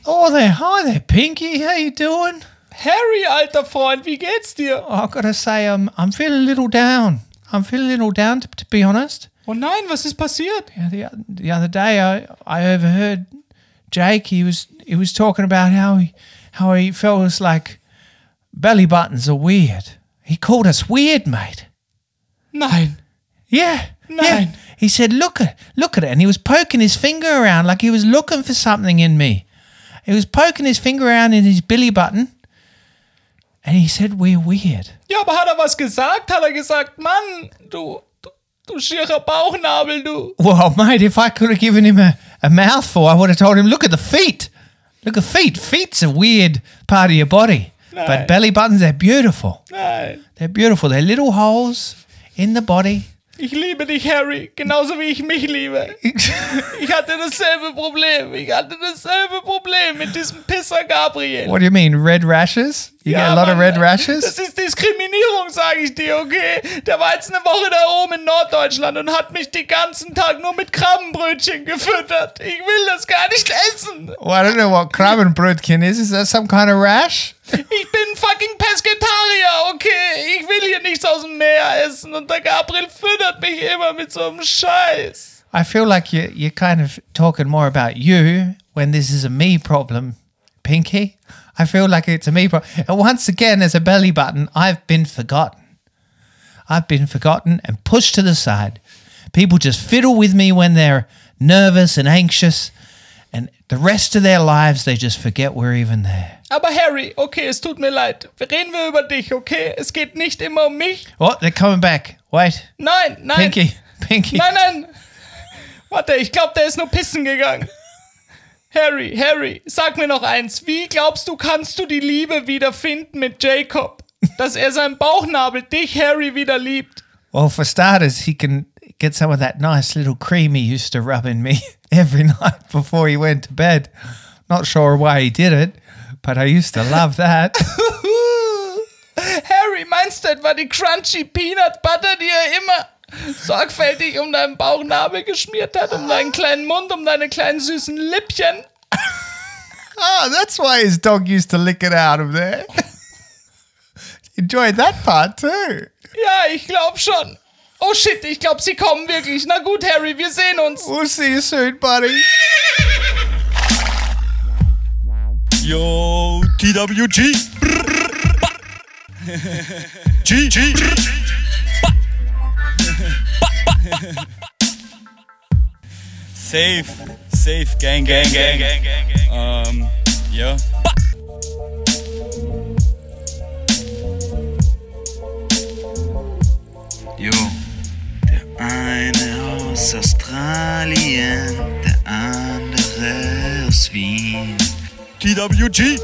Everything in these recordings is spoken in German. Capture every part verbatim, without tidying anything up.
Oh there, hi there, Pinky. How you doing? Harry, alter Freund, wie geht's dir? Oh, I've got to say, I'm I'm feeling a little down. I'm feeling a little down, to, to be honest. Oh nein, was ist passiert? Yeah, the the other day, I I overheard Jake. He was he was talking about how he how he felt was like belly buttons are weird. He called us weird, mate. Nein. Yeah. Nein. Yeah. He said, look at look at it, and he was poking his finger around like he was looking for something in me. He was poking his finger around in his belly button, and he said, we're weird. Ja, aber hat er was gesagt? Hat er gesagt, Mann, du, du, du schierer Bauchnabel, du. Well, mate, if I could have given him a, a mouthful, I would have told him, look at the feet. Look at feet. Feet's a weird part of your body. Nein. But belly buttons, they're beautiful. Nein. They're beautiful. They're little holes in the body. Ich liebe dich, Harry, genauso wie ich mich liebe. Ich hatte dasselbe Problem. Ich hatte dasselbe Problem mit diesem Pisser Gabriel. What do you mean, red rashes? You Ja, get a lot Mann, of red rashes? Das ist Diskriminierung, sage ich dir, okay? Der war jetzt eine Woche da oben in Norddeutschland und hat mich den ganzen Tag nur mit Krabbenbrötchen gefüttert. Ich will das gar nicht essen. Well, I don't know what Krabbenbrötchen is. Is that some kind of rash? Ich bin fucking Pesketarier, okay? Ich will hier nichts aus dem Meer essen und der Gabriel füttert mich immer mit so einem Scheiß. I feel like you, you're kind of talking more about you when this is a me problem, Pinky. I feel like it's a me problem. And once again, as a belly button, I've been forgotten. I've been forgotten and pushed to the side. People just fiddle with me when they're nervous and anxious. And the rest of their lives, they just forget we're even there. Aber Harry, okay, es tut mir leid. Reden wir über dich, okay? Es geht nicht immer um mich. Oh, they're coming back. Wait. Nein, nein. Pinky, Pinky. Nein, nein. Warte, ich glaube, der ist nur pissen gegangen. Harry, Harry, sag mir noch eins. Wie glaubst du, kannst du die Liebe wiederfinden mit Jacob? Dass er seinen Bauchnabel, dich, Harry, wieder liebt? Well, for starters, he can get some of that nice little cream he used to rub in me every night before he went to bed. Not sure why he did it, but I used to love that. Harry, meinst du etwa die crunchy Peanut Butter, die er immer sorgfältig um deinen Bauchnabel geschmiert hat, um deinen kleinen Mund, um deine kleinen süßen Lippchen? Oh, that's why his dog used to lick it out of there. Enjoyed that part too. Ja, ich glaube schon. Oh shit, ich glaube, sie kommen wirklich. Na gut, Harry, wir sehen uns. We'll see you soon, buddy. Yo, T W G. G, G. Safe, safe, gang, gang, gang, gang, gang, gang. Um, ja. Jo, der eine aus Australien, der andere aus Wien. T W G.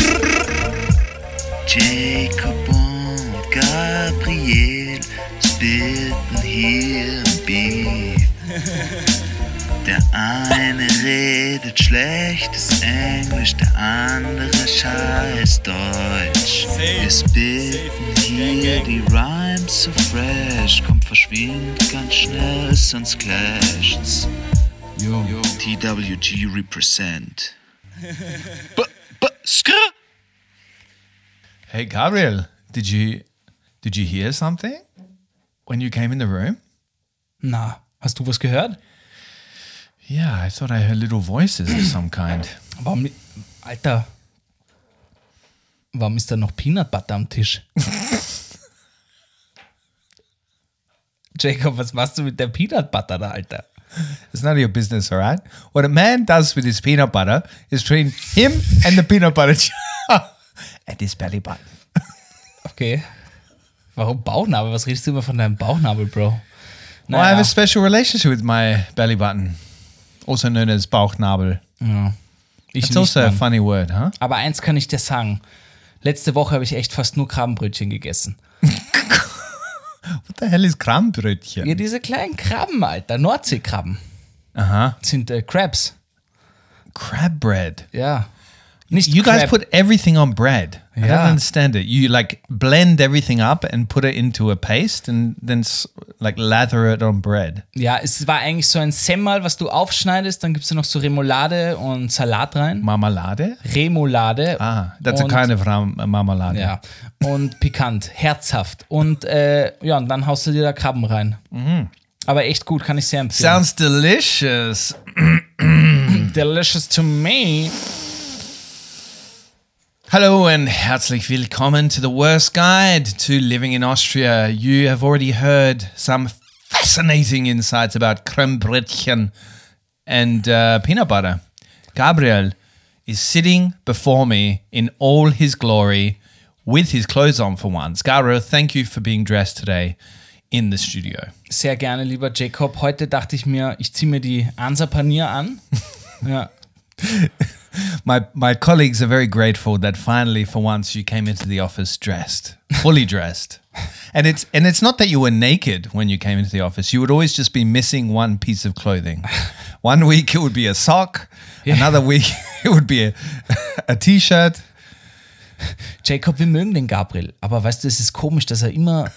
Jacob und Gabriel spitten hier im Beat. Der eine redet schlechtes Englisch, der andere scheiß Deutsch. Wir spitten hier die Rhymes so fresh, kommt verschwindet ganz schnell, sonst clasht's. Yo, T W G represent. B b skr. Hey, Gabriel, did you did you hear something when you came in the room? Na, hast du was gehört? Yeah, I thought I heard little voices of some kind. Warum, Alter, warum ist da noch Peanut Butter am Tisch? Jacob, was machst du mit der Peanut Butter da, Alter? It's none of your business, all right? What a man does with his peanut butter is between him and the peanut butter jar and his belly button. Okay. Warum Bauchnabel? Was redest du immer von deinem Bauchnabel, Bro? Well, I have a special relationship with my belly button, also known as Bauchnabel. Ja. Ich It's nicht, also a Mann. funny word, huh? Aber eins kann ich dir sagen. Letzte Woche habe ich echt fast nur Krabbenbrötchen gegessen. What the hell is Krabbenbrötchen? Ja, diese kleinen Krabben, Alter. Nordseekrabben. Uh-huh. Sind äh, Crabs. Crab bread. Ja. Nicht You guys Crab. put everything on bread. I don't Yeah. understand it. You like blend everything up and put it into a paste and then s- like lather it on bread. Ja, es war eigentlich so ein Semmel, was du aufschneidest, dann gibst du noch so Remoulade und Salat rein. Marmalade? Remoulade. Ah, that's und, a kind of ram- marmalade. Ja, und pikant, herzhaft. Und äh, ja, und dann haust du dir da Krabben rein. Aber echt gut, kann ich sehr empfehlen. Sounds delicious. delicious to me. Hello and herzlich willkommen to the worst guide to living in Austria. You have already heard some fascinating insights about creme brötchen and uh, peanut butter. Gabriel is sitting before me in all his glory with his clothes on for once. Gabriel, thank you for being dressed today in the studio. Sehr gerne, lieber Jacob. Heute dachte ich mir, ich ziehe mir die Ansa Panier an. Ja. My my colleagues are very grateful that finally, for once, you came into the office dressed, fully dressed, and it's and it's not that you were naked when you came into the office. You would always just be missing one piece of clothing. One week it would be a sock, another week it would be a, a T-shirt. Jacob, wir mögen den Gabriel, aber weißt du, es ist komisch, dass er immer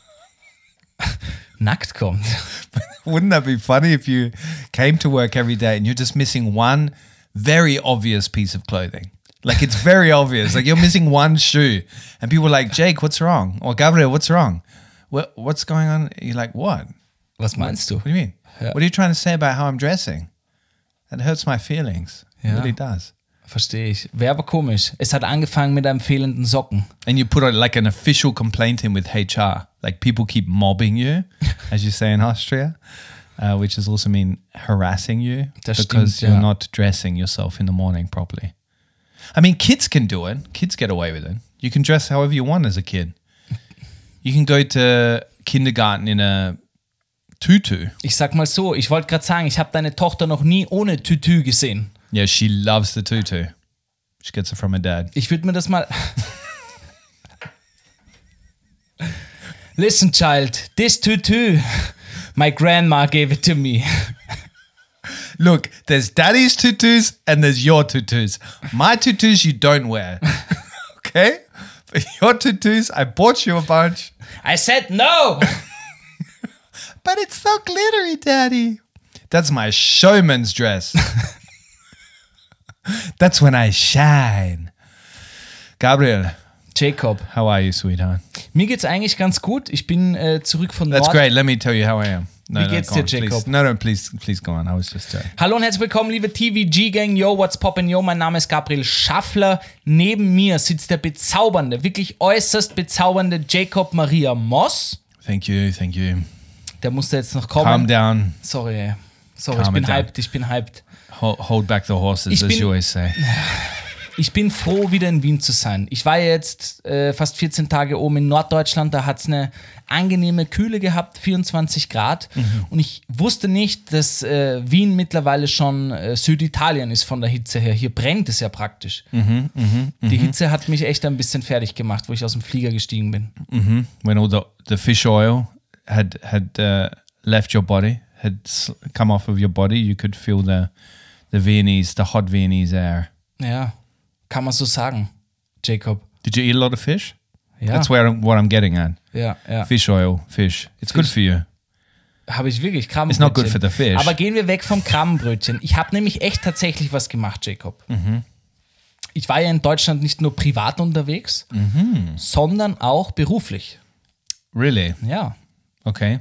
nackt kommt. Wouldn't that be funny if you came to work every day and you're just missing one very obvious piece of clothing? Like it's very obvious. Like you're missing one shoe, and people are like, Jake, what's wrong? Or Gabriel, what's wrong? What what's going on? You're like, what? Was meinst du? What do you mean? Yeah. What are you trying to say about how I'm dressing? That hurts my feelings. It Yeah. really does. Verstehe ich. Wäre aber komisch. Es hat angefangen mit einem fehlenden Socken. And you put a, like an official complaint in with H R. Like people keep mobbing you, as you say in Austria, uh, which does also mean harassing you Das because stimmt, you're ja. not dressing yourself in the morning properly. I mean, kids can do it. Kids get away with it. You can dress however you want as a kid. You can go to kindergarten in a tutu. Ich sag mal so, ich wollte gerade sagen, ich habe deine Tochter noch nie ohne Tütü gesehen. Yeah, she loves the tutu. She gets it from her dad. Ich würde mir das mal... Listen, child, this tutu, my grandma gave it to me. Look, there's daddy's tutus and there's your tutus. My tutus you don't wear. Okay? But your tutus, I bought you a bunch. I said no! But it's so glittery, daddy. That's my showman's dress. That's when I shine. Gabriel, Jacob, how are you, sweetheart? mir geht's eigentlich ganz gut. Ich bin äh, zurück von That's Nord. great. Let me tell you how I am. No, Wie no, geht's go dir, on, Jacob? please. No, no, please, please go on. I was just uh, Hallo und herzlich willkommen, liebe T V G-Gang. Yo, what's poppin', yo, mein Name ist Gabriel Schaffler. Neben mir sitzt der bezaubernde, wirklich äußerst bezaubernde Jacob Maria Moss. Thank you, thank you. Der musste jetzt noch kommen. Calm down. Sorry, sorry, Calm ich bin it down. hyped, ich bin hyped. Hold, hold back the horses, Ich as bin- you always say. Ich bin froh, wieder in Wien zu sein. Ich war jetzt äh, fast vierzehn Tage oben in Norddeutschland, da hat es eine angenehme Kühle gehabt, vierundzwanzig Grad. Mhm. Und ich wusste nicht, dass äh, Wien mittlerweile schon äh, Süditalien ist von der Hitze her. Hier brennt es ja praktisch. Mhm, Die Hitze hat mich echt ein bisschen fertig gemacht, wo ich aus dem Flieger gestiegen bin. When all the, the fish oil had had uh, left your body, had s- come off of your body, you could feel the the Viennese, the hot Viennese air. Ja, kann man so sagen, Jacob. Did you eat a lot of fish? Ja, That's where I'm, what I'm getting at. ja, ja. Fish oil, fish. It's good Fish. for you. Habe ich wirklich It's not good Krabbenbrötchen. for the fish. Aber gehen wir weg vom Krabbenbrötchen. Ich habe nämlich echt tatsächlich was gemacht, Jacob. Mhm. Ich war ja in Deutschland nicht nur privat unterwegs, Mhm. sondern auch beruflich. Really? Ja. Okay.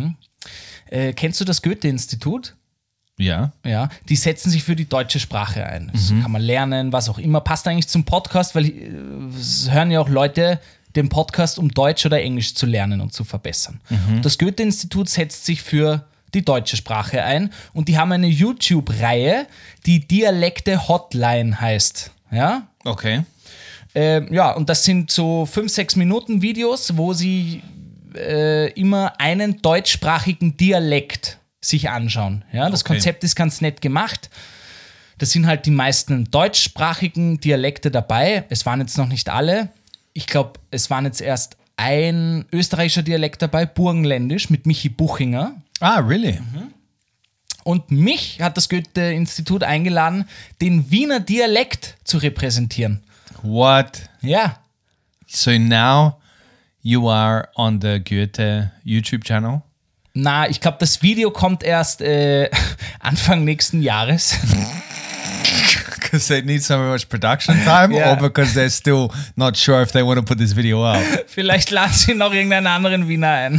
Äh, kennst du das Goethe-Institut? Yeah. Ja, die setzen sich für die deutsche Sprache ein. Das Mhm. kann man lernen, was auch immer. Passt eigentlich zum Podcast, weil äh, es hören ja auch Leute den Podcast, um Deutsch oder Englisch zu lernen und zu verbessern. Mhm. Das Goethe-Institut setzt sich für die deutsche Sprache ein und die haben eine YouTube-Reihe, die Dialekte-Hotline heißt. Ja, Okay. Ähm, ja, und das sind so fünf, sechs Minuten Videos, wo sie äh, immer einen deutschsprachigen Dialekt sich anschauen. Ja, das Okay. Konzept ist ganz nett gemacht. Das sind halt die meisten deutschsprachigen Dialekte dabei. Es waren jetzt noch nicht alle. Ich glaube, es waren jetzt erst ein österreichischer Dialekt dabei, Burgenländisch mit Michi Buchinger. Ah, really? Und mich hat das Goethe-Institut eingeladen, den Wiener Dialekt zu repräsentieren. What? Ja. So now you are on the Goethe YouTube channel? Na, ich glaube, das Video kommt erst äh, Anfang nächsten Jahres. Because they need so much production time Yeah. or because they're still not sure if they want to put this video up? Vielleicht laden sie noch irgendeinen anderen Wiener ein.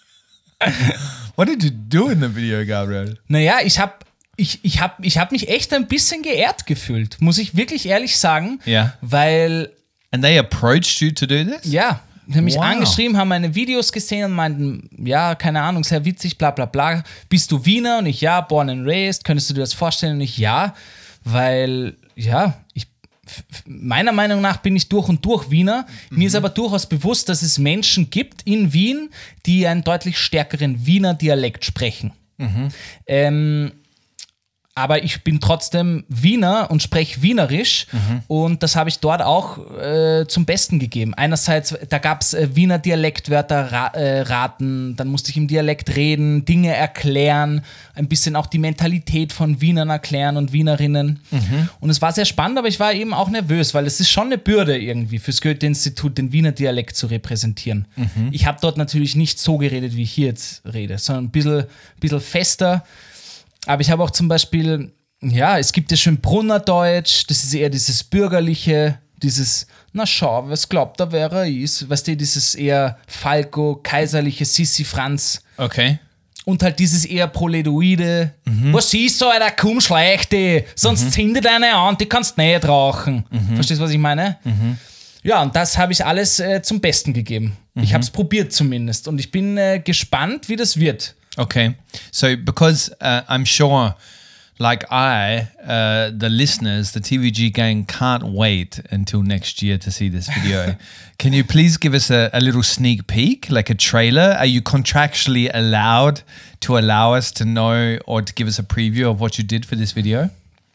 What did you do in the video, Gabriel? Naja, ich habe ich, ich hab, ich hab mich echt ein bisschen geehrt gefühlt, muss ich wirklich ehrlich sagen. Ja. Weil, And they approached you to do this? ja, die haben mich Wow. angeschrieben, haben meine Videos gesehen und meinten, ja, keine Ahnung, sehr witzig, bla bla bla. Bist du Wiener? Und ich, ja, born and raised. Könntest du dir das vorstellen? Und ich, ja, weil, ja, ich meiner Meinung nach bin ich durch und durch Wiener. Mhm. Mir ist aber durchaus bewusst, dass es Menschen gibt in Wien, die einen deutlich stärkeren Wiener Dialekt sprechen. Mhm. Ähm, aber ich bin trotzdem Wiener und spreche Wienerisch mhm. und das habe ich dort auch äh, zum Besten gegeben. Einerseits, da gab es äh, Wiener Dialektwörter ra- äh, raten, dann musste ich im Dialekt reden, Dinge erklären, ein bisschen auch die Mentalität von Wienern erklären und Wienerinnen. Mhm. Und es war sehr spannend, aber ich war eben auch nervös, weil es ist schon eine Bürde irgendwie fürs Goethe-Institut, den Wiener Dialekt zu repräsentieren. Mhm. Ich habe dort natürlich nicht so geredet, wie ich hier jetzt rede, sondern ein bisschen, bisschen fester. Aber ich habe auch zum Beispiel, ja, es gibt ja schon Brunnerdeutsch, das ist eher dieses bürgerliche, dieses, na schau, was glaubt er, wer er ist, weißt du, dieses eher Falco, kaiserliche Sissi Franz. Okay. Und halt dieses eher Proledoide. Mhm. Was ist so, Alter, komm, schleich dich, sonst mhm. zünde deine an, die kannst nicht rauchen. Mhm. Verstehst du, was ich meine? Mhm. Ja, und das habe ich alles äh, zum Besten gegeben. Mhm. Ich habe es probiert zumindest und ich bin äh, gespannt, wie das wird. Okay. So, because uh, I'm sure, like I, uh, the listeners, the T V G gang can't wait until next year to see this video. Can you please give us a, a little sneak peek, like a trailer? Are you contractually allowed to allow us to know or to give us a preview of what you did for this video?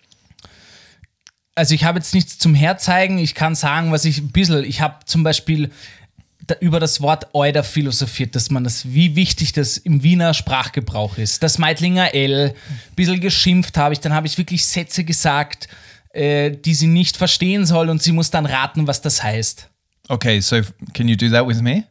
Also ich habe jetzt nichts zum Herzeigen, ich kann sagen, was ich ein bisschen, ich habe zum Beispiel über das Wort Euder philosophiert, dass man das, wie wichtig das im Wiener Sprachgebrauch ist. Das Meidlinger L, ein bisschen geschimpft habe ich, dann habe ich wirklich Sätze gesagt, äh, die sie nicht verstehen soll und sie muss dann raten, was das heißt. Okay, so can you do that with me?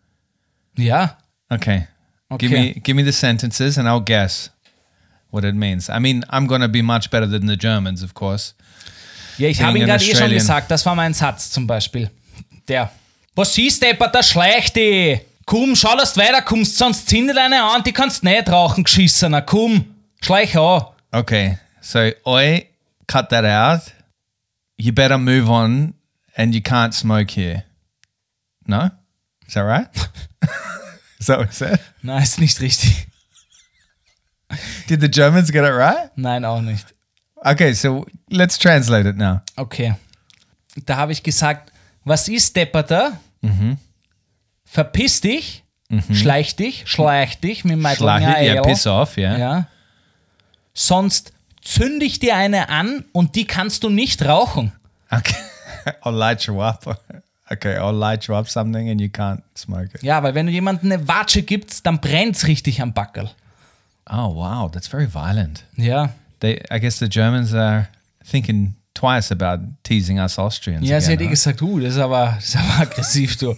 Ja. Okay. Okay. Give me give me the sentences and I'll guess what it means. I mean, I'm going to be much better than the Germans, of course. Ja, ich habe ihn gerade eh schon gesagt, das war mein Satz zum Beispiel. Der. Was siehst du, Depper, der schleicht dich. Komm, schau, dass du weiterkommst, sonst zünde deine an, die kannst nicht rauchen, geschissener. Komm, schleich an. Okay, so oi, cut that out. You better move on and you can't smoke here. No? Is that right? Is that what it said? Nein, ist nicht richtig. Did the Germans get it right? Nein, auch nicht. Okay, so let's translate it now. Okay. Da habe ich gesagt, was ist, Depperter? Mhm. Verpiss dich, mhm. schleich dich, schleich dich mit dem Meidlinger Yeah, Ale. piss off, yeah. Ja. Sonst zünde ich dir eine an und die kannst du nicht rauchen. Okay, I'll light you up. Okay, I'll light you up something and you can't smoke it. Ja, weil wenn du jemandem eine Watsche gibst, dann brennt's richtig am Backerl. Oh, wow, that's very violent. Ja. They, I guess the Germans are thinking twice about teasing us Austrians. Ja, again, sie hat eh right? gesagt, uh, das ist aber, das ist aber aggressiv, du.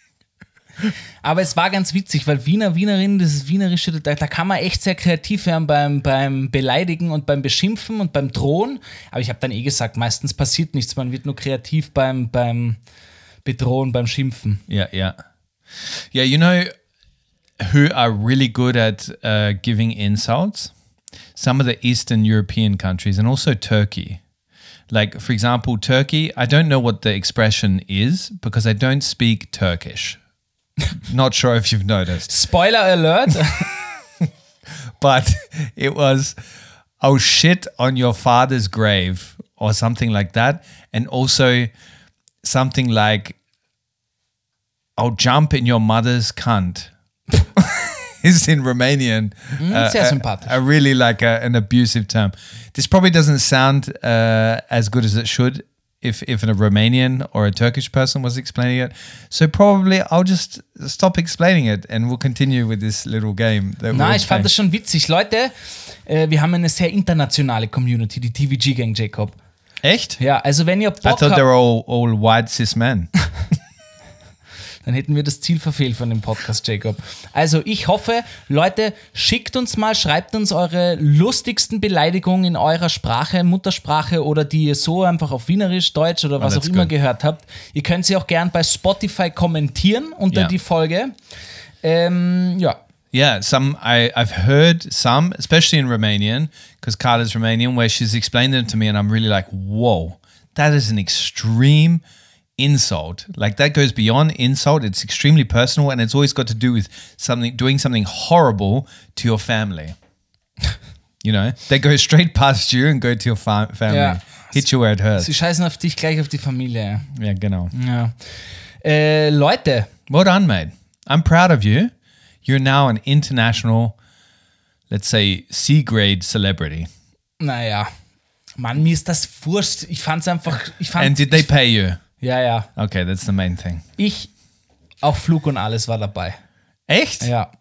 Aber es war ganz witzig, weil Wiener, Wienerinnen, das ist Wienerische, da, da kann man echt sehr kreativ werden beim, beim Beleidigen und beim Beschimpfen und beim Drohen. Aber ich habe dann eh gesagt, meistens passiert nichts, man wird nur kreativ beim, beim Bedrohen, beim Schimpfen. Yeah, yeah. Yeah, you know who are really good at uh, giving insults? Some of the Eastern European countries and also Turkey. Like, for example, Turkey, I don't know what the expression is because I don't speak Turkish. Not sure if you've noticed. Spoiler alert. But it was, oh shit on your father's grave or something like that. And also something like, I'll jump in your mother's cunt. Is in Romanian. Mm, sehr sympathisch. A, a really like a, an abusive term. This probably doesn't sound uh, as good as it should if if a Romanian or a Turkish person was explaining it. So probably I'll just stop explaining it and we'll continue with this little game. That Na, we're ich fand playing. das schon witzig. Leute, äh, wir haben eine sehr internationale Community, die T V G-Gang, Jacob. Echt? Ja, also wenn ihr I Bock thought habt, they were all, all white cis men. dann hätten wir das Ziel verfehlt von dem Podcast, Jacob. Also ich hoffe, Leute, schickt uns mal, schreibt uns eure lustigsten Beleidigungen in eurer Sprache, Muttersprache oder die ihr so einfach auf Wienerisch, Deutsch oder was auch that's immer good. gehört habt. Ihr könnt sie auch gern bei Spotify kommentieren unter Ja. die Folge. Ähm, ja. Yeah, some I, I've heard some, especially in Romanian, because Carla's Romanian, where she's explained them to me and I'm really like, whoa, that is an extreme insult. Like that goes beyond insult. It's extremely personal and it's always got to do with something, doing something horrible to your family. You know, they go straight past you and go to your fa- family. Ja. Hit you where it hurts. Sie scheißen auf dich, gleich auf die Familie. Yeah, genau. Ja. Äh, Leute, Well done, mate. I'm proud of you. You're now an international, let's say, C-grade celebrity. naja, Mann, mir ist das wurscht. Ich fand's einfach, ich fand, And did they ich, pay you? ja, ja, Okay, that's the main thing. ich, auch Flug und alles war dabei. Echt? Ja,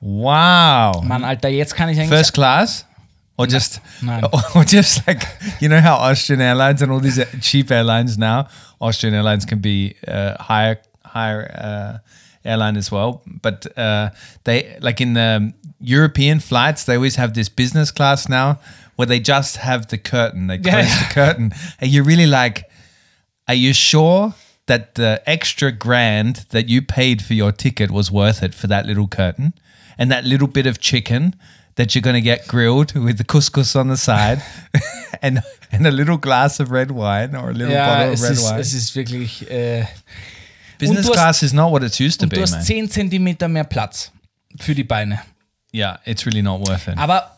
Wow. Mann, Alter, jetzt kann ich eigentlich... First class? Or just, nein. or just like, you know how Austrian Airlines and all these cheap airlines now, Austrian Airlines can be uh, higher, higher uh, airline as well. But uh, they, like in the European flights, they always have this business class now where they just have the curtain. They close Yeah, yeah. the curtain. And you're really like, are you sure that the extra grand that you paid for your ticket was worth it for that little curtain and that little bit of chicken that you're going to get grilled with the couscous on the side and and a little glass of red wine or a little Ja, bottle of es red ist, wine? es ist wirklich... Äh, Business du hast- class is not what it used to und be, du hast man. zehn Zentimeter mehr Platz für die Beine. Yeah, it's really not worth it. Aber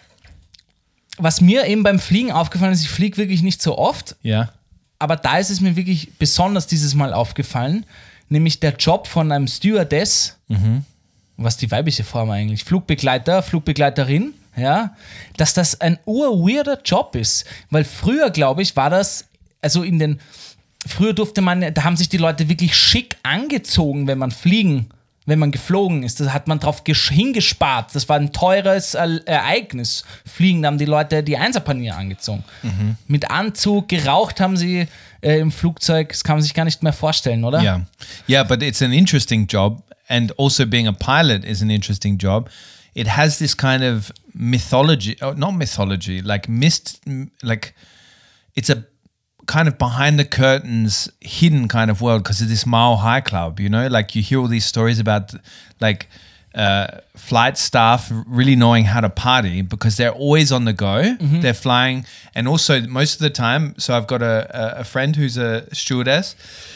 was mir eben beim Fliegen aufgefallen ist, ich fliege wirklich nicht so oft, Yeah. aber da ist es mir wirklich besonders dieses Mal aufgefallen, nämlich der Job von einem Stewardess, was die weibliche Form eigentlich, Flugbegleiter, Flugbegleiterin, ja, dass das ein urweirder Job ist, weil früher, glaube ich, war das, also in den, früher durfte man, da haben sich die Leute wirklich schick angezogen, wenn man fliegen, wenn man geflogen ist, da hat man drauf gesch- hingespart, das war ein teures E- Ereignis, fliegen, da haben die Leute die Einserpanier angezogen, mit Anzug, geraucht haben sie äh, im Flugzeug, das kann man sich gar nicht mehr vorstellen, oder? Yeah. Yeah, but it's an interesting job. And also being a pilot is an interesting job. It has this kind of mythology, oh, not mythology, like mist, like it's a kind of behind the curtains, hidden kind of world because of this Mile High Club, you know? Like you hear all these stories about like uh, flight staff really knowing how to party because they're always on the go. They're flying. And also most of the time, so I've got a, a, a friend who's a stewardess.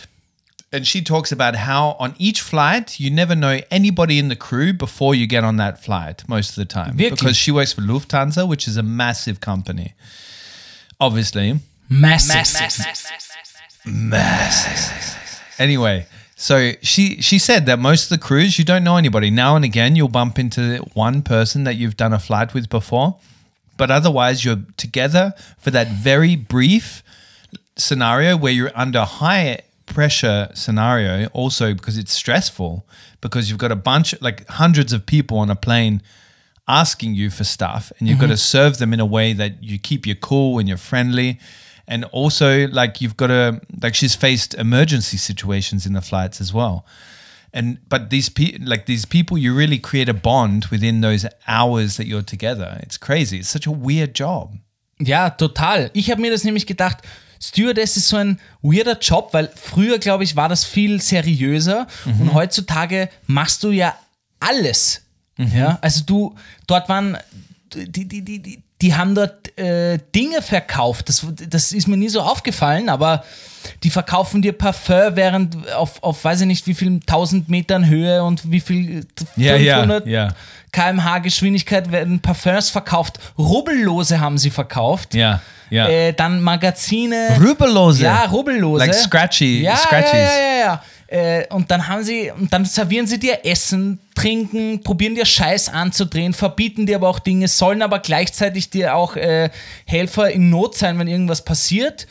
And she talks about how on each flight, you never know anybody in the crew before you get on that flight most of the time. Wirklich? Because she works for Lufthansa, which is a massive company. Obviously. Massive. Massive. Anyway, so she, she said that most of the crews, you don't know anybody. Now and again, you'll bump into one person that you've done a flight with before. But otherwise, you're together for that very brief scenario where you're under high pressure scenario also because it's stressful because you've got a bunch like hundreds of people on a plane asking you for stuff and you've got to serve them in a way that you keep your cool and you're friendly and also like you've got to like she's faced emergency situations in the flights as well and but these pe- like these people you really create a bond within those hours that you're together. It's crazy. It's such a weird job. Ja, total. Ich habe mir das nämlich gedacht, Stewardess ist so ein weirder Job, weil früher, glaube ich, war das viel seriöser und heutzutage machst du ja alles. Ja, also du, dort waren, die, die, die, die, die haben dort äh, Dinge verkauft, das, das ist mir nie so aufgefallen, aber die verkaufen dir Parfum während auf, auf weiß ich nicht wie viel tausend Metern Höhe und wie viel Ja, ja, fünfhundert ja. Kilometer pro Stunde Geschwindigkeit werden Parfums verkauft, Rubbellose haben sie verkauft. Ja, ja. Äh, dann Magazine. Rubbellose. Ja, Rubbellose. Like scratchy, ja, scratchies. Ja, ja, ja, ja. Äh, und dann haben sie, und dann servieren sie dir Essen, trinken, probieren dir Scheiß anzudrehen, verbieten dir aber auch Dinge, sollen aber gleichzeitig dir auch äh, Helfer in Not sein, wenn irgendwas passiert.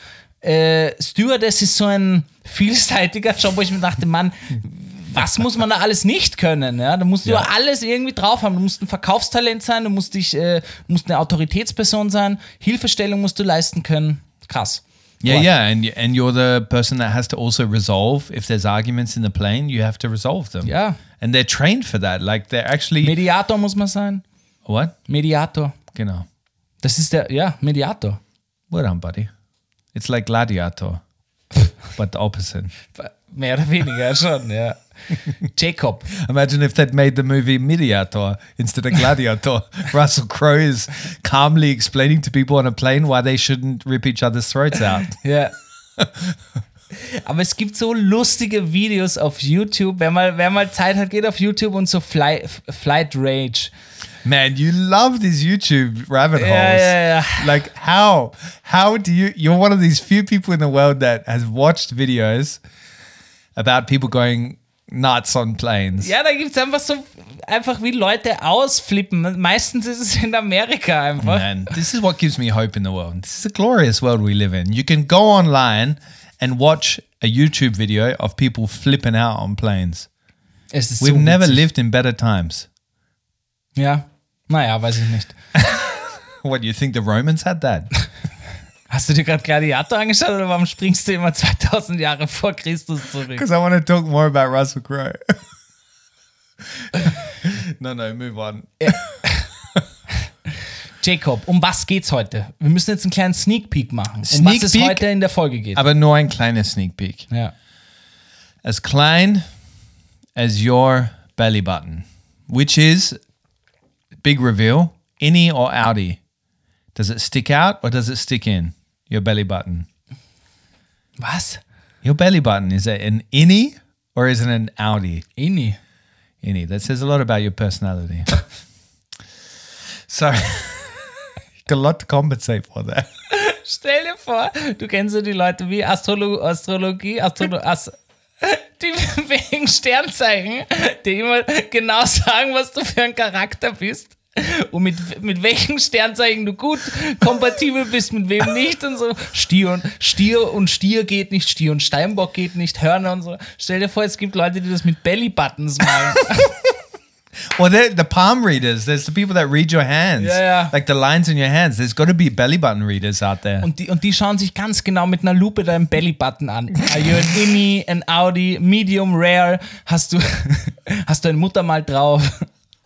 Äh, Stewardess ist so ein vielseitiger Job, wo ich mir dachte, Mann, was muss man da alles nicht können? Ja? Da musst du Ja. alles irgendwie drauf haben. Du musst ein Verkaufstalent sein, du musst, dich, äh, musst eine Autoritätsperson sein, Hilfestellung musst du leisten können. Krass. Yeah, Aber- yeah, and y- and you're the person that has to also resolve if there's arguments in the plane. You have to resolve them. Ja. and they're trained for that. Like they're actually Mediator muss man sein. what? Mediator. Genau. Das ist der, ja, Mediator. Well done, buddy. It's like Gladiator, but the opposite. Mehr oder weniger schon, ja. Jacob. Imagine if they'd made the movie Mediator instead of Gladiator. Russell Crowe is calmly explaining to people on a plane why they shouldn't rip each other's throats out. Ja. Aber es gibt so lustige Videos auf YouTube. Wer mal, wer mal Zeit hat, geht auf YouTube und so Fly, Flight Rage. Man, you love these YouTube rabbit holes. Ja, ja, ja. Like how? How do you? You're one of these few people in the world that has watched videos about people going nuts on planes. Ja, da gibt es einfach so, einfach wie Leute ausflippen. Meistens ist es in Amerika einfach. Man, this is what gives me hope in the world. This is a glorious world we live in. You can go online and watch a YouTube video of people flipping out on planes. Es ist We've so never witzig. lived in better times. Ja, naja, weiß ich nicht. What, you think the Romans had that? Hast du dir gerade Gladiator angeschaut oder warum springst du immer zweitausend Jahre vor Christus zurück? Because I want to talk more about Russell Crowe. no, no, move on. Jacob, um was geht's heute? Wir müssen jetzt einen kleinen Sneak Peek machen, um Sneak was es Peek? heute in der Folge geht. Aber nur ein kleiner sneak peek. Ja. As klein as your belly button, which is, big reveal, innie or outie? Does it stick out or does it stick in, your belly button? Was? Your belly button, is it an innie or is it an outie? Inni. Innie. That says a lot about your personality. Sorry. Got a lot to compensate for there. Stell dir vor, du kennst ja die Leute wie Astrolo Astrologie, Astrolo As die wegen Sternzeichen, die immer genau sagen, was du für ein Charakter bist und mit, mit welchen Sternzeichen du gut kompatibel bist, mit wem nicht und so. Stier und Stier und Stier geht nicht, Stier und Steinbock geht nicht, Hörner und so. Stell dir vor, es gibt Leute, die das mit Belly-Buttons machen. Well, they're the palm readers. There's the people that read your hands. Yeah, yeah. Like the lines in your hands. There's got to be belly button readers out there. Und die, und die schauen sich ganz genau mit einer Lupe deinen Belly-Button an. Are you an Inni, an Audi, Medium, Rare? Hast du, hast du ein Muttermal drauf?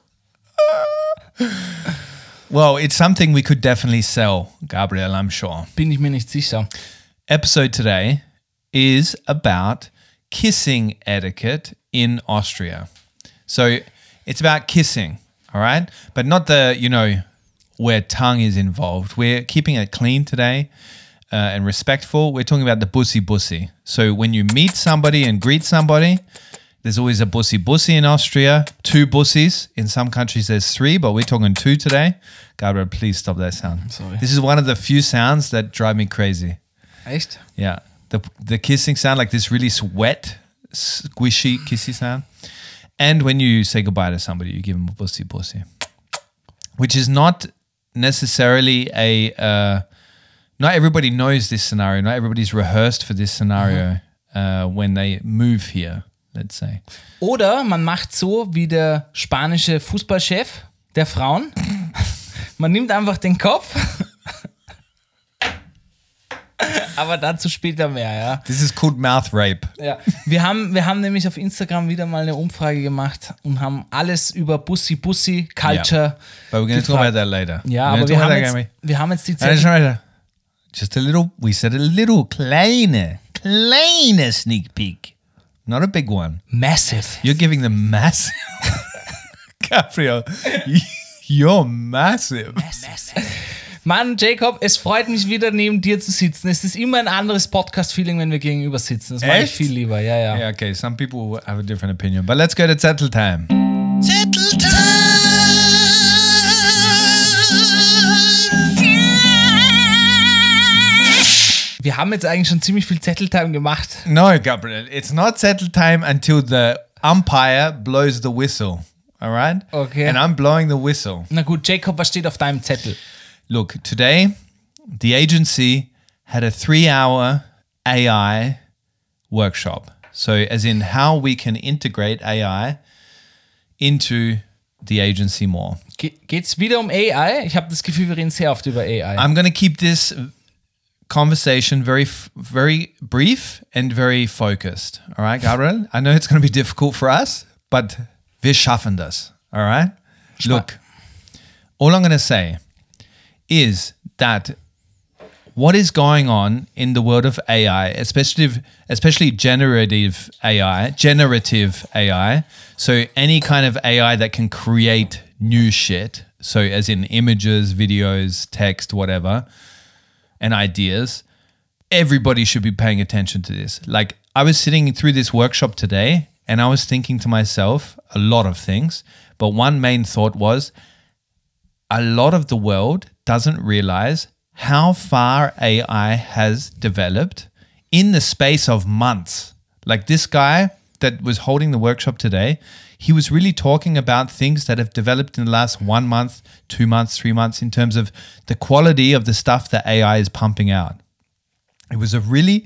Well, it's something we could definitely sell, Gabriel, I'm sure. Bin ich mir nicht sicher. Episode today is about kissing etiquette in Austria. So it's about kissing, all right? But not the, you know, where tongue is involved. We're keeping it clean today uh, and respectful. We're talking about the bussy bussy. So when you meet somebody and greet somebody, there's always a bussy bussy in Austria, two bussies. In some countries there's three, but we're talking two today. Gabriel, please stop that sound. Sorry. This is one of the few sounds that drive me crazy. Echt? Yeah. The the kissing sound, like this really wet, squishy kissy sound. And when you say goodbye to somebody, you give them a bussy bussy. Which is not necessarily a... Uh, not everybody knows this scenario. Not everybody's rehearsed for this scenario uh, when they move here, let's say. Oder man macht so wie der spanische Fußballchef der Frauen. Man nimmt einfach den Kopf. Aber dazu später mehr, ja. This is called mouth rape. Ja. Wir haben, wir haben nämlich auf Instagram wieder mal eine Umfrage gemacht und haben alles über Bussi Bussi Culture. But we're going to talk about that later. Ja, We're aber gonna wir talk haben, about jetzt, that, Gary. wir haben jetzt die No, just Zeit. right. Just a little, we said a little kleine, kleine sneak peek. Not a big one. Massive. You're giving them massive. Gabriel, you're massive. Mann, Jacob, es freut mich wieder neben dir zu sitzen. Es ist immer ein anderes Podcast-Feeling, wenn wir gegenüber sitzen. Das mag ich Echt? viel lieber, ja, ja. Yeah, okay, some people have a different opinion. But let's go to Zettel time. Zettel Wir haben jetzt eigentlich schon ziemlich viel Zetteltime gemacht. No, Gabriel, it's not Zettel time until the umpire blows the whistle. All right? Okay. And I'm blowing the whistle. Na gut, Jacob, was steht auf deinem Zettel? Look, today, the agency had a three hour A I workshop. So as in how we can integrate A I into the agency more. Ge- geht's wieder um A I? Ich habe das Gefühl, wir reden sehr oft über A I. I'm going to keep this conversation very, f- very brief and very focused. All right, Gabriel? I know it's going to be difficult for us, but wir schaffen das. All right? Look, all I'm going to say is that what is going on in the world of A I, especially especially generative A I, generative A I, so any kind of A I that can create new shit, so as in images, videos, text, whatever, and ideas, everybody should be paying attention to this. Like, I was sitting through this workshop today and I was thinking to myself a lot of things, but one main thought was a lot of the world doesn't realize how far A I has developed in the space of months. Like this guy that was holding the workshop today, he was really talking about things that have developed in the last one month, two months, three months in terms of the quality of the stuff that A I is pumping out. It was a really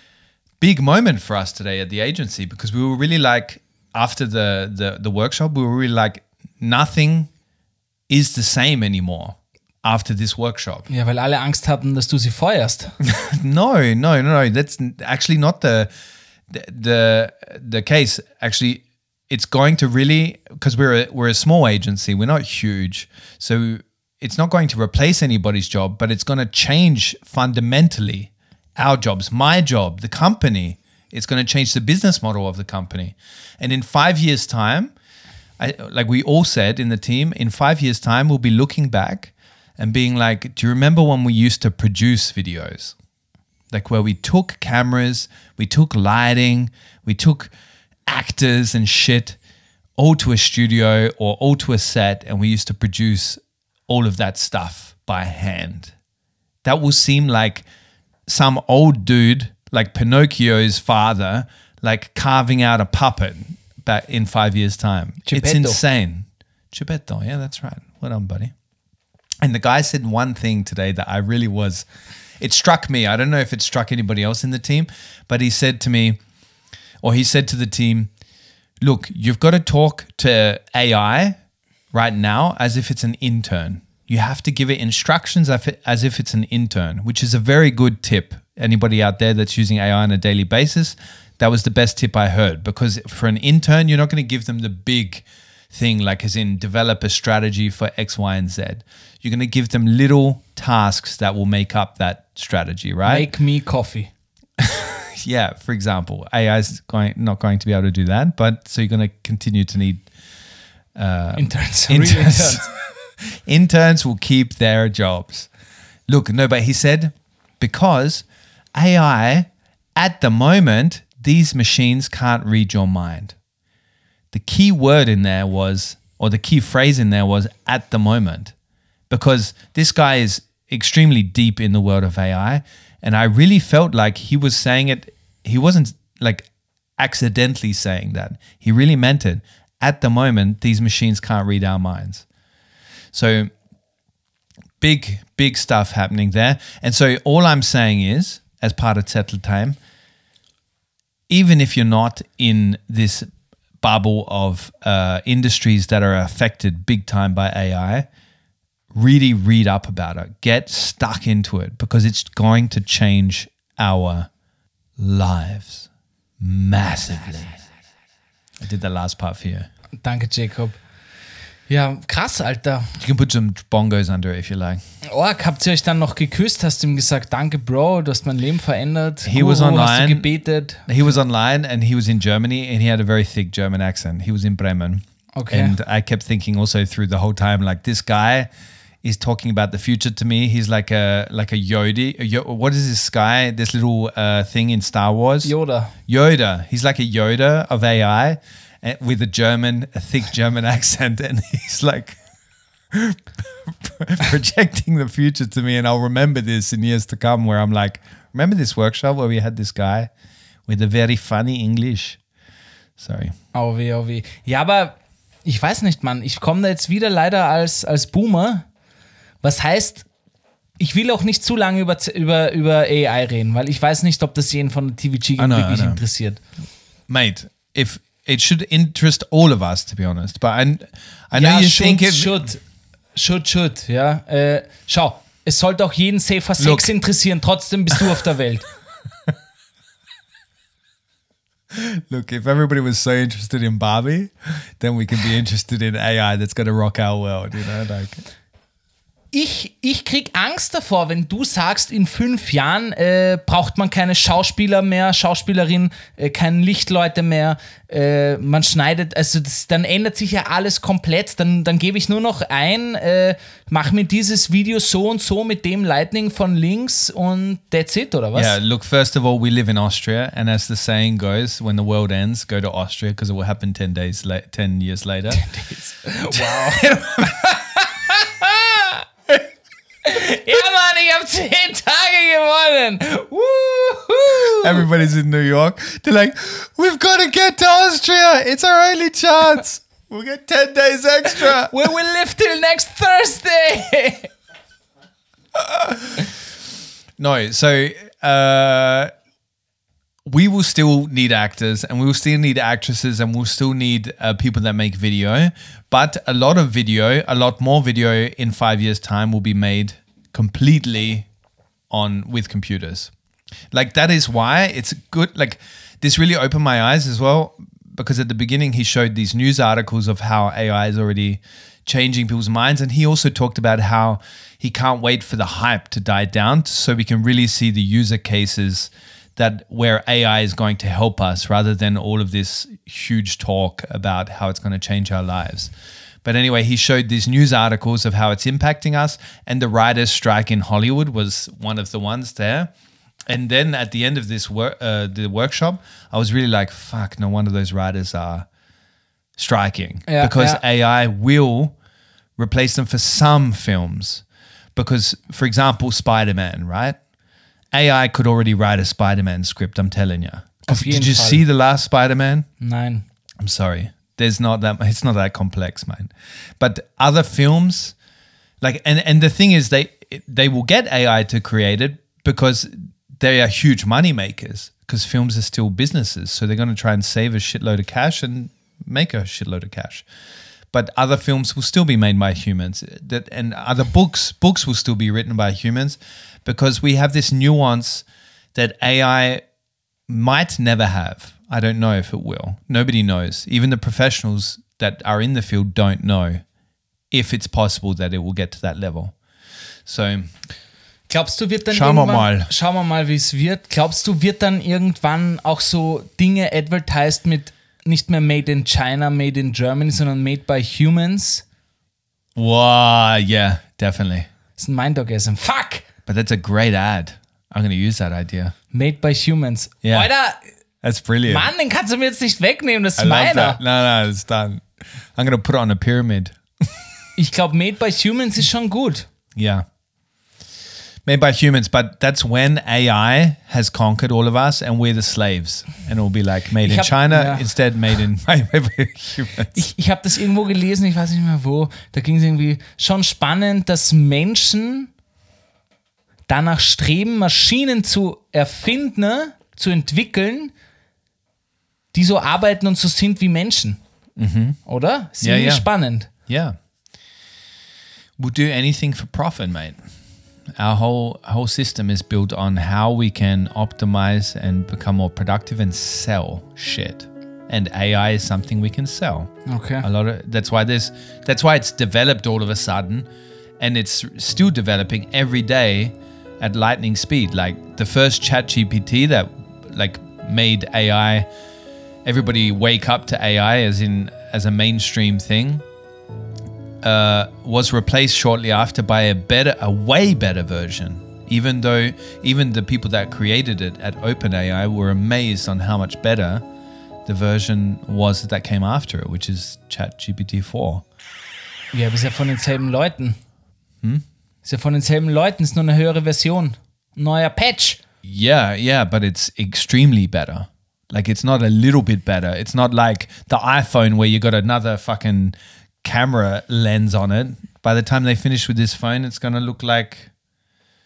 big moment for us today at the agency because we were really like, after the, the, the workshop, we were really like, nothing is the same anymore after this workshop. Ja, weil alle Angst hatten, dass du sie feuerst. no, no, no, no. That's actually not the, the the the case. Actually, it's going to really, because we're a, we're a small agency, we're not huge, so it's not going to replace anybody's job, but it's going to change fundamentally our jobs, my job, the company. It's going to change the business model of the company, and in five years' time, I, like we all said in the team, in five years' time, we'll be looking back and being like, do you remember when we used to produce videos? Like where we took cameras, we took lighting, we took actors and shit all to a studio or all to a set, and we used to produce all of that stuff by hand. That will seem like some old dude, like Pinocchio's father, like carving out a puppet back in five years' time. Geppetto. It's insane. Geppetto, yeah, that's right. Well done, buddy. And the guy said one thing today that I really was, it struck me. I don't know if it struck anybody else in the team, but he said to me, or he said to the team, look, you've got to talk to A I right now as if it's an intern. You have to give it instructions as if it's an intern, which is a very good tip. Anybody out there that's using A I on a daily basis, that was the best tip I heard, because for an intern, you're not going to give them the big thing, like as in develop a strategy for X, Y, and Z. You're going to give them little tasks that will make up that strategy, right? Make me coffee. Yeah, for example, A I is going, not going to be able to do that, but so you're going to continue to need uh, interns. Interns. Real interns. Interns will keep their jobs. Look, no, but he said, because A I, at the moment, these machines can't read your mind. The key word in there was, or the key phrase in there was, at the moment. Because this guy is extremely deep in the world of A I, and I really felt like he was saying it, he wasn't like accidentally saying that. He really meant it. At the moment, these machines can't read our minds. So big, big stuff happening there. And so all I'm saying is, as part of Zettel Time, even if you're not in this bubble of uh, industries that are affected big time by A I, really read up about it. Get stuck into it, because it's going to change our lives massively. I did the last part for you. Danke, Jacob. Ja, krass, Alter. You can put some bongos under it if you like. Org, habt ihr euch dann noch geküsst? Hast du ihm gesagt, danke, Bro, du hast mein Leben verändert? He was Guru, online. Hast du gebetet? He was online and he was in Germany and he had a very thick German accent. He was in Bremen. Okay. And I kept thinking also through the whole time, like, this guy is talking about the future to me. He's like a like a Yoda. A Yo- what is this guy? This little uh, thing in Star Wars? Yoda. Yoda. He's like a Yoda of A I uh, with a German, a thick German accent. And he's like projecting the future to me. And I'll remember this in years to come, where I'm like, remember this workshop where we had this guy with a very funny English? Sorry. Oh weh, oh weh. Ja, aber ich weiß nicht, Mann. Ich komme da jetzt wieder leider als, als Boomer. Was heißt, Ich will auch nicht zu lange über, über, über A I reden, weil ich weiß nicht, ob das jeden von der T V G I know, wirklich I know. interessiert. Mate, if it should interest all of us, to be honest. But I, I know Ja, you should, think it... should, should, should, ja. Äh, schau, es sollte auch jeden Safer Sex Look. interessieren, trotzdem bist du auf der Welt. Look, if everybody was so interested in Barbie, then we can be interested in A I that's going to rock our world, you know? Like... Ich, ich krieg Angst davor, wenn du sagst, in fünf Jahren äh, braucht man keine Schauspieler mehr, Schauspielerin, äh, keine Lichtleute mehr, äh, man schneidet, also das, dann ändert sich ja alles komplett, dann, dann gebe ich nur noch ein, äh, mach mir dieses Video so und so mit dem Lightning von links und that's it, oder was? Yeah, look, first of all, we live in Austria, and as the saying goes, when the world ends, go to Austria, because it will happen ten days, la- ten years later. Wow. Ja, Mann, ich hab zehn Tage gewonnen. Woohoo. Everybody's in New York. They're like, we've got to get to Austria. It's our only chance. We'll get ten days extra. We will live till next Thursday. No, so uh, we will still need actors, and we will still need actresses, and we'll still need uh, people that make video. But a lot of video, a lot more video in five years' time will be made completely on with computers. Like, that is why it's good. Like, this really opened my eyes as well, because at the beginning he showed these news articles of how A I is already changing people's minds, and he also talked about how he can't wait for the hype to die down so we can really see the user cases that where A I is going to help us, rather than all of this huge talk about how it's going to change our lives. But anyway, he showed these news articles of how it's impacting us, and the writers' strike in Hollywood was one of the ones there. And then at the end of this work, uh, the workshop, I was really like, fuck, no wonder those writers are striking. Yeah, because yeah. A I will replace them for some films. Because, for example, Spider-Man, right? A I could already write a Spider-Man script, I'm telling you. Auf jeden Did you Fall. see the last Spider-Man? Nein. I'm sorry. There's not that. It's not that complex, man. But other films, like, and and the thing is, they they will get A I to create it because they are huge money makers. Because films are still businesses, so they're going to try and save a shitload of cash and make a shitload of cash. But other films will still be made by humans. That and other books books will still be written by humans, because we have this nuance that A I might never have. I don't know if it will. Nobody knows. Even the professionals that are in the field don't know if it's possible that it will get to that level. So, Glaubst du, wird dann Schauen wir irgendwann, mal. Schauen wir mal, wie es wird. Glaubst du, wird dann irgendwann auch so Dinge advertised mit nicht mehr Made in China, Made in Germany, sondern Made by Humans? wow, yeah, definitely. Das ist ein Mind-Orgasm. Fuck! But that's a great ad. I'm going to use that idea. Made by Humans. Yeah. Alter, That's brilliant. Mann, den kannst du mir jetzt nicht wegnehmen, das ist I love meiner. that. No, no, it's done. I'm going to put it on a pyramid. Ich glaube, Made by Humans ist schon gut. Yeah. Made by humans, but that's when A I has conquered all of us and we're the slaves. And it will be like made Ich in hab- China ja. instead made in made by humans. Ich, ich habe das irgendwo gelesen, ich weiß nicht mehr wo. Da ging es irgendwie schon spannend, dass Menschen danach streben, Maschinen zu erfinden, zu entwickeln, die so arbeiten und so sind wie Menschen. Oder? Ist Ja, irgendwie ja. spannend. Yeah. We'll do anything for profit, mate. Our whole whole system is built on how we can optimize and become more productive and sell shit. And A I is something we can sell. Okay. A lot of that's why there's that's why it's developed all of a sudden, and it's still developing every day at lightning speed. Like the first ChatGPT that like made A I, everybody wake up to A I as in as a mainstream thing. Uh, was replaced shortly after by a better, a way better version. Even though even the people that created it at OpenAI were amazed on how much better the version was that came after it, which is ChatGPT four. Ja, aber ist ja von denselben Leuten. Hm? Ist ja von denselben Leuten, ist nur eine höhere Version. Neuer Patch. Yeah, yeah, but it's extremely better. Like it's not a little bit better. It's not like the iPhone where you got another fucking camera lens on it. By the time they finish with this phone, it's going to look like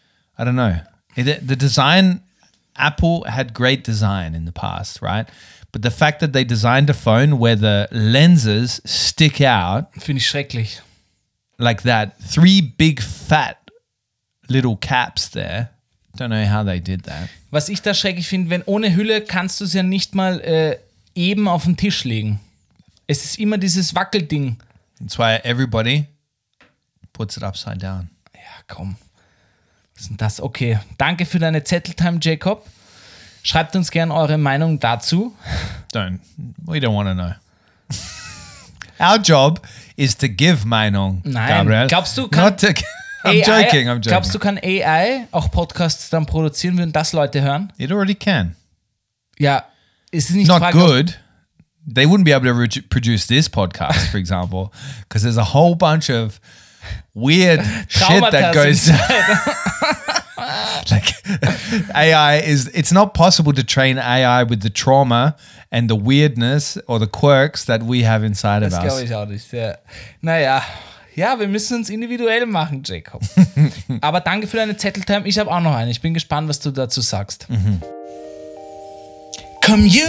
I don't know. It, the design, Apple had great design in the past, right? But the fact that they designed a phone where the lenses stick out Finde ich schrecklich. like that, three big fat little caps there. Don't know how they did that. Was ich da schrecklich finde, wenn ohne Hülle kannst du es ja nicht mal äh, eben auf den Tisch legen. Es ist immer dieses Wackelding. That's why everybody puts it upside down. Ja, komm. Was ist denn das? Okay, danke für deine Zetteltime, Jacob. Schreibt uns gerne eure Meinung dazu. Don't. We don't want to know. Our job is to give Meinung, Nein. Gabriel. Glaubst du, kann Not to, I'm A I, joking, I'm joking. Glaubst du, kann A I auch Podcasts dann produzieren, würden das Leute hören? It already can. Ja, ist es nicht Not Frage, good. They wouldn't be able to re- produce this podcast, for example, because there's a whole bunch of weird shit that goes like A I is it's not possible to train A I with the trauma and the weirdness or the quirks that we have inside Das of glaube us. ich auch nicht. Ja. Naja, ja, wir müssen uns individuell machen, Jacob. Aber danke für deine Zetteltime. Ich habe auch noch eine. Ich bin gespannt, was du dazu sagst. Mhm. Community!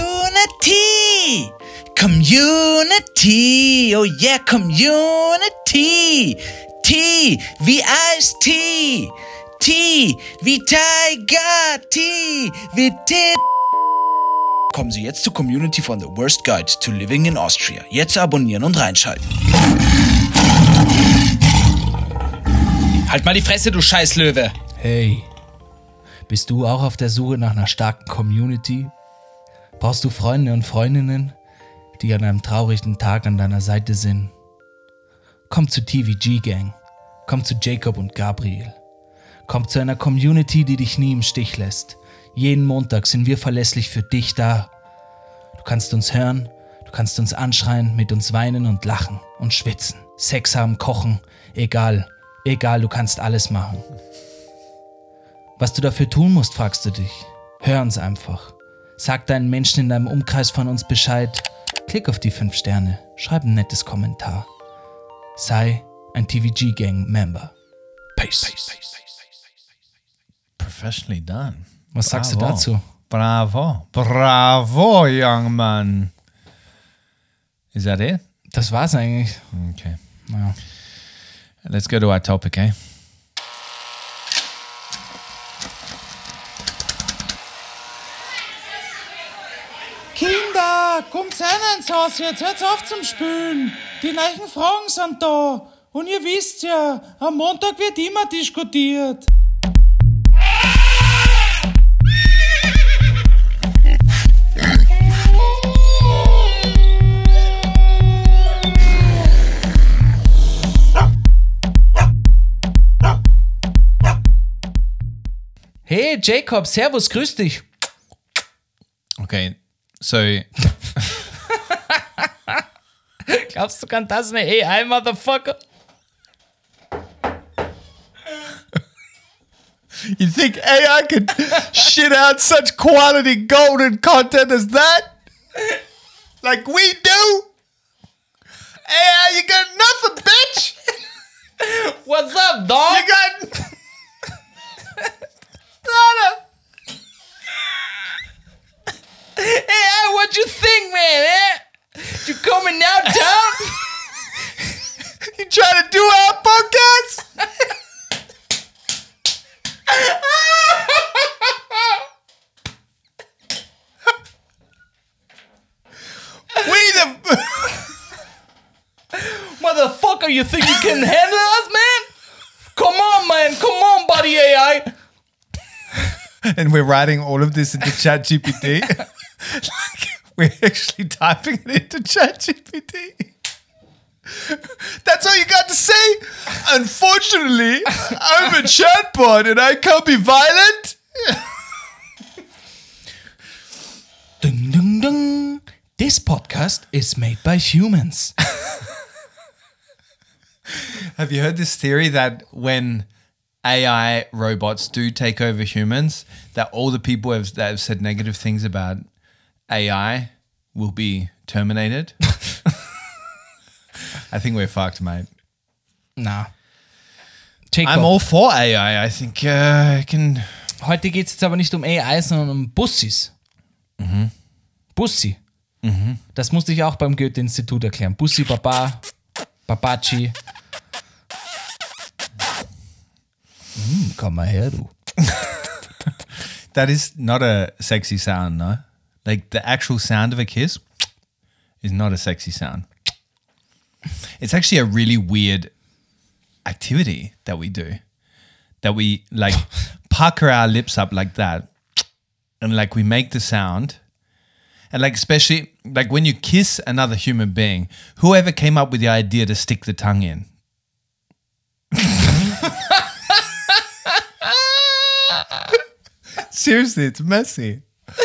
Community! Oh yeah, Community! T wie Ice T! T wie Tiger! T wie Tit! Kommen Sie jetzt zur Community von The Worst Guide to Living in Austria. Jetzt abonnieren und reinschalten. Halt mal die Fresse, du Scheißlöwe! Hey, bist du auch auf der Suche nach einer starken Community? Brauchst du Freunde und Freundinnen, die an einem traurigen Tag an deiner Seite sind? Komm zu T V G Gang. Komm zu Jacob und Gabriel. Komm zu einer Community, die dich nie im Stich lässt. Jeden Montag sind wir verlässlich für dich da. Du kannst uns hören, du kannst uns anschreien, mit uns weinen und lachen und schwitzen, Sex haben, kochen, egal, egal, du kannst alles machen. Was du dafür tun musst, fragst du dich. Hör uns einfach. Sag deinen Menschen in deinem Umkreis von uns Bescheid. Klick auf die fünf Sterne, schreib ein nettes Kommentar. Sei ein T V G Gang Member. Peace. Professionally done. Was sagst du Bravo. dazu? Bravo. Bravo, young man. Is that it? Das war's eigentlich. Okay. Ja. Let's go to our topic, eh? Kinder, kommt rein ins Haus jetzt, hört auf zum Spülen. Die neuen Fragen sind da. Und ihr wisst ja, am Montag wird immer diskutiert. Hey Jacob, servus, grüß dich. Okay. So Glaubst du, kann das eine A I, Motherfucker? you think A I could shit out such quality golden content as that? Like we do? A I, you got nothing, bitch. What's up, dog? You got nada. Hey, what you think, man? Eh? You coming now, Tom? You trying to do our podcast? we the Motherfucker, you think you can handle us, man? Come on, man. Come on, buddy A I. and we're writing all of this into ChatGPT. Like we're actually typing it into ChatGPT. That's all you got to say? Unfortunately, I'm a chatbot and I can't be violent. Ding, ding, ding. This podcast is made by humans. Have you heard this theory that when A I robots do take over humans, that all the people have, that have said negative things about A I will be terminated? I think we're fucked, mate. Na. Jacob. I'm all for A I. I think uh, I can. Heute geht es jetzt aber nicht um A I, sondern um Bussis. Mhm. Bussi. Mhm. Das musste ich auch beim Goethe-Institut erklären. Bussi, Baba, Babaci. Hm, komm mal her, du. That is not a sexy sound, no? Like the actual sound of a kiss is not a sexy sound. It's actually a really weird activity that we do. That we like pucker our lips up like that and like we make the sound. And like especially like when you kiss another human being, whoever came up with the idea to stick the tongue in. Seriously, it's messy.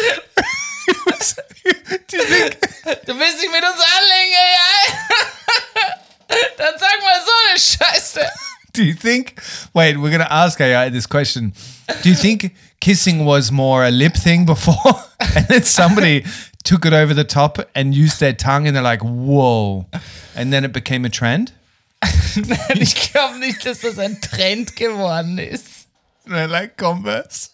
Do you think? Du willst dich mit uns anlegen, A I? Dann sag mal so eine Scheiße. Do you think? Wait, we're gonna ask A I this question. Do you think kissing was more a lip thing before, and then somebody took it over the top and used their tongue, and they're like, "Whoa," and then it became a trend? Nein, ich glaube nicht, dass das ein Trend geworden ist. And they're like Converse,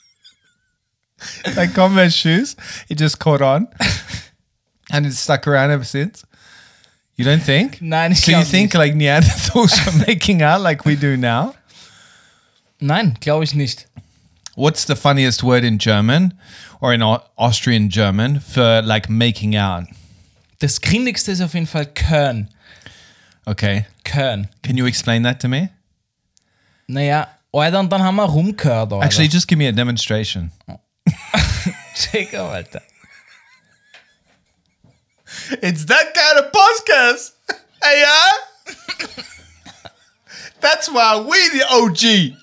like Converse shoes. It just caught on, and it's stuck around ever since. You don't think? Nein, ich So you glaube think nicht. like Neanderthals were making out like we do now? Nein, glaube ich nicht. What's the funniest word in German or in Au- Austrian German for like making out? Das Grindigste ist auf jeden Fall Körn. Okay. Körn. Can you explain that to me? Naja, Alter, und dann haben wir rumgehört, Alter. Actually, just give me a demonstration. Jacob, Alter. It's that kind of podcast. Hey, yeah? That's why we the O G.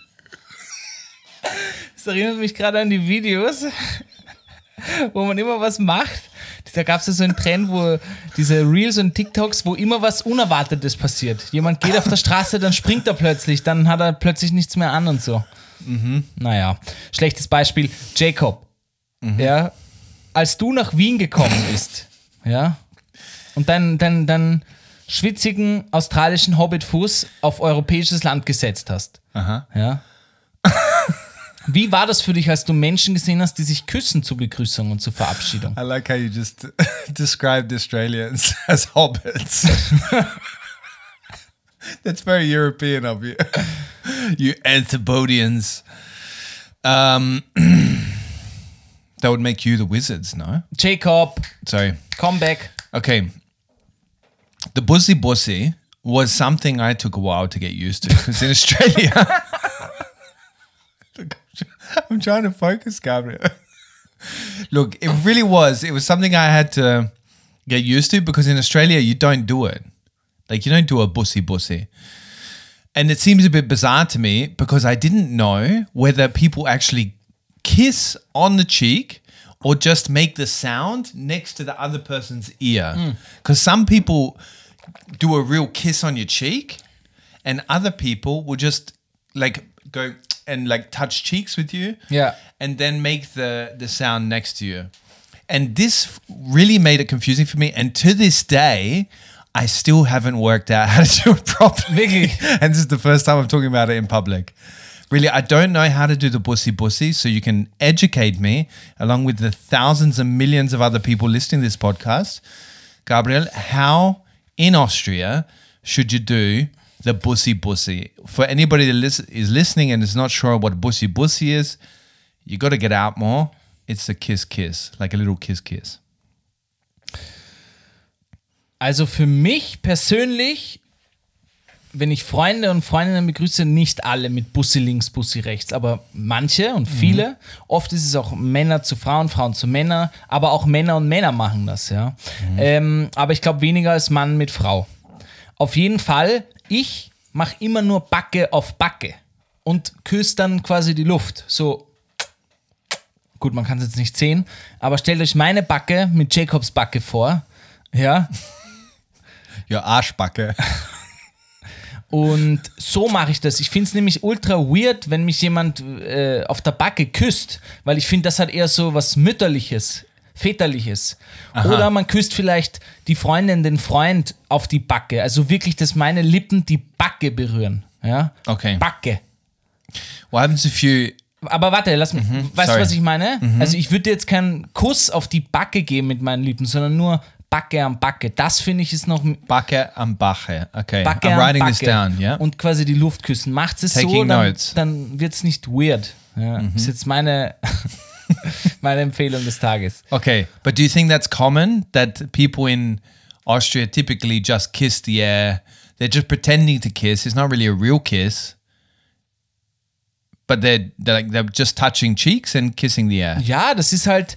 Das erinnert mich gerade an die Videos, wo man immer was macht. Da gab es ja so einen Trend, wo diese Reels und TikToks, wo immer was Unerwartetes passiert. Jemand geht auf der Straße, dann springt er plötzlich, dann hat er plötzlich nichts mehr an und so. Mhm. Naja, schlechtes Beispiel. Jacob, Mhm. ja, als du nach Wien gekommen bist, ja, und deinen dein, dein schwitzigen australischen Hobbitfuß auf europäisches Land gesetzt hast, Aha. ja. Wie war das für dich, als du Menschen gesehen hast, die sich küssen zur Begrüßung und zur Verabschiedung? I like how you just described Australians as hobbits. That's very European of you. You Anthropodians. Um, that would make you the wizards, no? Jacob, Sorry. come back. Okay. The bussy bussy was something I took a while to get used to. Because in Australia... Look, I'm trying to focus, Gabriel. Look, it really was. It was something I had to get used to because in Australia, you don't do it. Like, you don't do a bussy bussy. And it seems a bit bizarre to me because I didn't know whether people actually kiss on the cheek or just make the sound next to the other person's ear. Because some people do a real kiss on your cheek and other people will just like go and like touch cheeks with you Yeah. and then make the, the sound next to you. And this really made it confusing for me. And to this day, I still haven't worked out how to do it properly. Really? And this is the first time I'm talking about it in public. Really, I don't know how to do the bussy bussy, so you can educate me along with the thousands and millions of other people listening to this podcast. Gabriel, how in Austria should you do the bussy bussy? For anybody that lis- is listening and is not sure what bussy bussy is, you got to get out more. It's a kiss kiss, like a little kiss kiss. Also für mich persönlich, wenn ich Freunde und Freundinnen begrüße, nicht alle mit Bussi links, Bussi rechts, aber manche und viele. Mhm. Oft ist es auch Männer zu Frauen, Frauen zu Männer, aber auch Männer und Männer machen das, ja. Mhm. Ähm, aber ich glaube weniger als Mann mit Frau. Auf jeden Fall, ich mache immer nur Backe auf Backe und küsse dann quasi die Luft. So, gut, man kann es jetzt nicht sehen, aber stellt euch meine Backe mit Jacobs Backe vor, ja. Ja, Arschbacke. Und so mache ich das. Ich finde es nämlich ultra weird, wenn mich jemand äh, auf der Backe küsst, weil ich finde, das hat eher so was Mütterliches, Väterliches. Aha. Oder man küsst vielleicht die Freundin, den Freund auf die Backe. Also wirklich, dass meine Lippen die Backe berühren. Ja? Okay. Backe. What happens if you... Aber warte, lass mich. Mhm, weißt sorry. du, was ich meine? Also ich würde dir jetzt keinen Kuss auf die Backe geben mit meinen Lippen, sondern nur Backe am Backe. Das finde ich ist noch Backe am Bache. Okay, Backe I'm am writing Backe. this down, yeah? Und quasi die Luft küssen. Macht es so, Taking dann, notes. dann wird es nicht weird. Ja, Mhm. ist jetzt meine, meine Empfehlung des Tages. Okay, but do you think that's common that people in Austria typically just kiss the air? They're just pretending to kiss. It's not really a real kiss, but they're they're, like, they're just touching cheeks and kissing the air. Ja, das ist halt,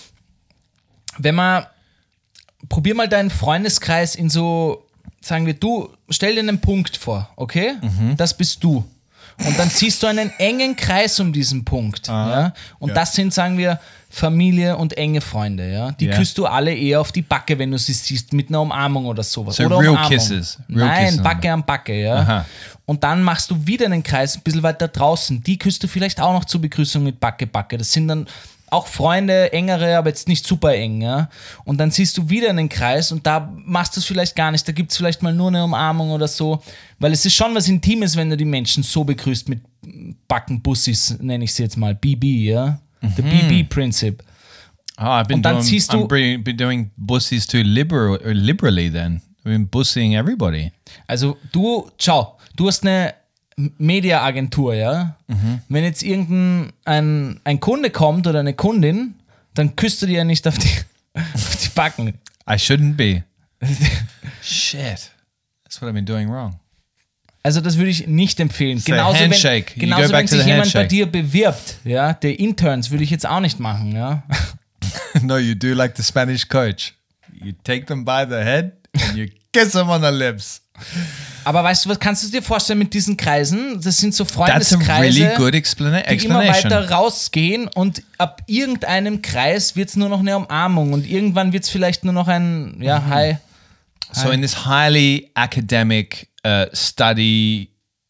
wenn man, probier mal deinen Freundeskreis in so, sagen wir, du, stell dir einen Punkt vor, okay? Das bist du. Und dann ziehst du einen engen Kreis um diesen Punkt. Ja? Und Ja. das sind, sagen wir, Familie und enge Freunde. Ja? Die Ja. küsst du alle eher auf die Backe, wenn du sie siehst, mit einer Umarmung oder sowas. So oder real Umarmung. kisses. Real Nein, kisses. Backe an Backe. Ja? Aha. Und dann machst du wieder einen Kreis ein bisschen weiter draußen. Die küsst du vielleicht auch noch zur Begrüßung mit Backe, Backe. Das sind dann auch Freunde, engere, aber jetzt nicht super eng. Ja? Und dann ziehst du wieder einen Kreis und da machst du es vielleicht gar nicht. Da gibt es vielleicht mal nur eine Umarmung oder so. Weil es ist schon was Intimes, wenn du die Menschen so begrüßt mit Backenbussis, nenne ich sie jetzt mal. B B, ja? The B B-Prinzip. Oh, I've been Und dann doing, ziehst du- I'm been, been doing bussies too liberal, liberally then. I've been bussying everybody. Also du, schau, du hast eine Media-Agentur, ja? Wenn jetzt irgendein ein, ein Kunde kommt oder eine Kundin, dann küsst du dir ja nicht auf die, auf die Backen. I shouldn't be. Shit. That's what I've been doing wrong. Also das würde ich nicht empfehlen. So Genauso handshake. wenn, You genauso go back wenn to sich the jemand bei handshake. dir bewirbt, ja, der Interns würde ich jetzt auch nicht machen, ja. No, you do like the Spanish coach. You take them by the head and you kiss them on the lips. Aber weißt du was, kannst du dir vorstellen mit diesen Kreisen? Das sind so That's a Freundeskreise, really good explana- die immer explanation. weiter rausgehen und ab irgendeinem Kreis wird es nur noch eine Umarmung und irgendwann wird es vielleicht nur noch ein, ja, Mhm. hi. So in this highly academic, uh, study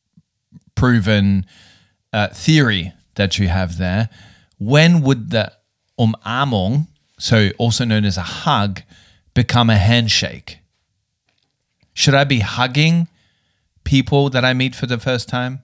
proven uh, theory that you have there, when would the umarmung, so also known as a hug, become a handshake? Should I be hugging people that I meet for the first time?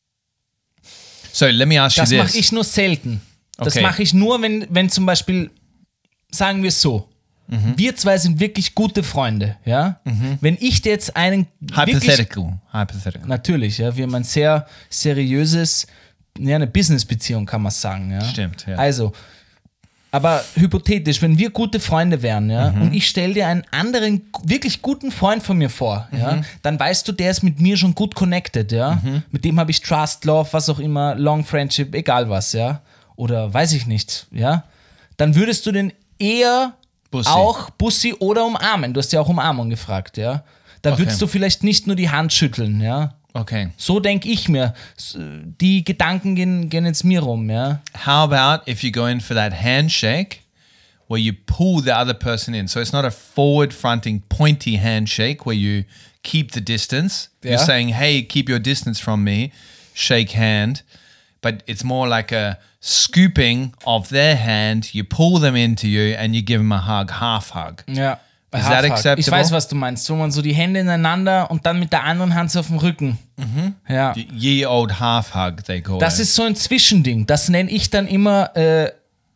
So let me ask Das you mache this. ich nur selten. Das Okay. mache ich nur, wenn, wenn zum Beispiel, sagen wir es so, Mhm. wir zwei sind wirklich gute Freunde, ja. Wenn ich dir jetzt einen wirklich, Hypothetical. Hypothetical. natürlich, ja, wir haben ein sehr seriöses, ja, eine Business-Beziehung, kann man sagen, ja. Stimmt, ja. Also, aber hypothetisch, wenn wir gute Freunde wären, ja, Mhm. und ich stelle dir einen anderen, wirklich guten Freund von mir vor, ja, Mhm. dann weißt du, der ist mit mir schon gut connected, ja. Mit dem habe ich Trust, Love, was auch immer, Long Friendship, egal was, ja. Oder weiß ich nicht, ja. Dann würdest du den eher Bussi. auch Bussi oder umarmen. Du hast ja auch Umarmung gefragt, ja. Da Okay. würdest du vielleicht nicht nur die Hand schütteln, ja. Okay. So denke ich mir. S- Die Gedanken gehen, gehen jetzt mir rum, ja. How about if you go in for that handshake where you pull the other person in? So it's not a forward fronting pointy handshake where you keep the distance. Yeah. You're saying, hey, keep your distance from me, shake hand. But it's more like a scooping of their hand. You pull them into you and you give them a hug, half hug. Ja. Is that acceptable? Ich weiß, was du meinst. Wo man so die Hände ineinander und dann mit der anderen Hand so auf dem Rücken. Ja. Ye old half hug, they call Das it. ist so ein Zwischending. Das nenne ich dann immer. Äh,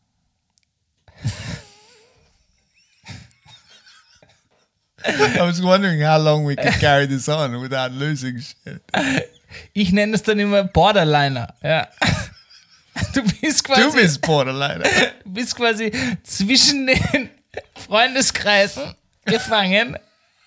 I was wondering how long we could carry this on without losing shit. ich nenne es dann immer Borderliner. Ja. Du bist quasi. Du bist Borderline. Du bist quasi zwischen den Freundeskreisen gefangen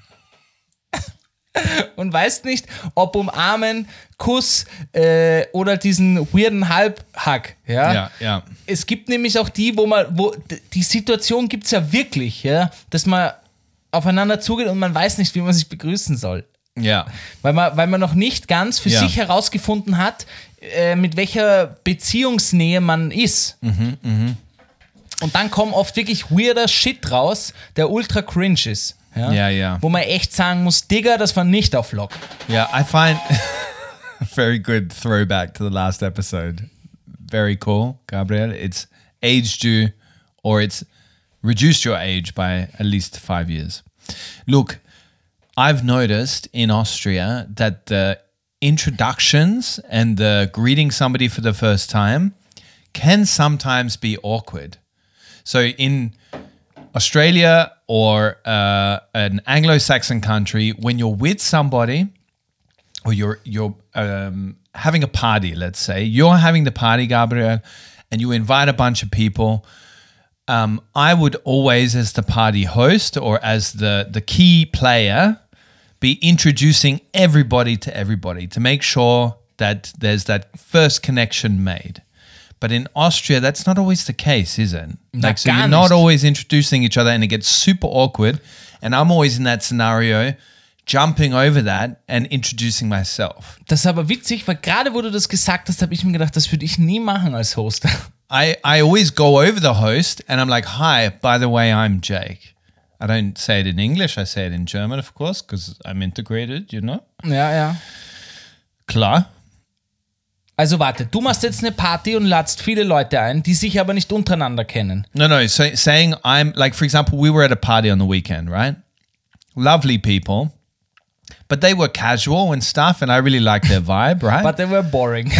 und weißt nicht, ob umarmen, Kuss äh, oder diesen weirden Halbhack. Ja? Ja, ja. Es gibt nämlich auch die, wo man, wo d- die Situation gibt es ja wirklich, ja, dass man aufeinander zugeht und man weiß nicht, wie man sich begrüßen soll. Yeah. Weil man, weil man noch nicht ganz für Ja. sich herausgefunden hat, äh, mit welcher Beziehungsnähe man ist. Und dann kommt oft wirklich weirder Shit raus, der ultra cringe ist. Ja, Ja, ja. Wo man echt sagen muss, Digga, das war nicht auf Lock. Yeah, I find very good throwback to the last episode. Very cool, Gabriel. It's aged you, or it's reduced your age by at least five years. Look, I've noticed in Austria that the introductions and the greeting somebody for the first time can sometimes be awkward. So in Australia or uh, an Anglo-Saxon country, when you're with somebody or you're you're um, having a party, let's say, you're having the party, Gabriel, and you invite a bunch of people, um, I would always, as the party host or as the, the key player, be introducing everybody to everybody to make sure that there's that first connection made. But in Austria, that's not always the case, is it? Na, Like, so gar you're not nicht. always introducing each other and it gets super awkward. And I'm always in that scenario, jumping over that and introducing myself. Das ist aber witzig, weil gerade wo du das gesagt hast, habe ich mir gedacht, das würde ich nie machen als Host. I, I always go over the host and I'm like, hi, by the way, I'm Jake. I don't say it in English, I say it in German, of course, because I'm integrated, you know? Ja, ja. Klar. Also warte, du machst jetzt eine Party und ladst viele Leute ein, die sich aber nicht untereinander kennen. No, no, so saying I'm, like, for example, we were at a party on the weekend, right? Lovely people, but they were casual and stuff, and I really liked their vibe, right? But they were boring.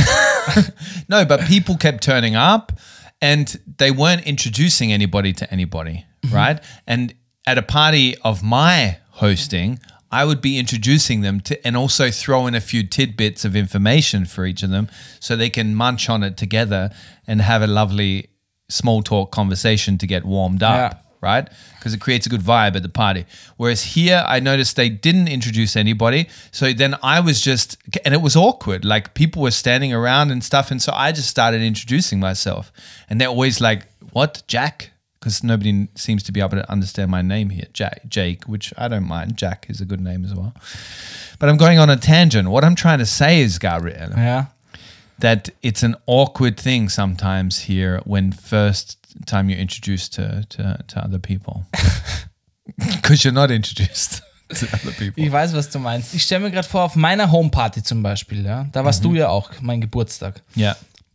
No, but people kept turning up and they weren't introducing anybody to anybody, right? And at a party of my hosting, I would be introducing them to and also throw in a few tidbits of information for each of them so they can munch on it together and have a lovely small talk conversation to get warmed up, Yeah. right? Because it creates a good vibe at the party. Whereas here, I noticed they didn't introduce anybody. So then I was just, and it was awkward. Like people were standing around and stuff. And so I just started introducing myself. And they're always like, what, Jack? Because nobody seems to be able to understand my name here, Jack, Jake, which I don't mind. Jack is a good name as well. But I'm going on a tangent. What I'm trying to say is, Gabriel, Ja. that it's an awkward thing sometimes here when first time you're introduced to, to, to other people. Because you're not introduced to other people. Ich weiß, was du meinst. Ich stelle mir gerade vor, auf meiner Homeparty zum Beispiel, ja, da warst du ja auch, mein Geburtstag. Yeah.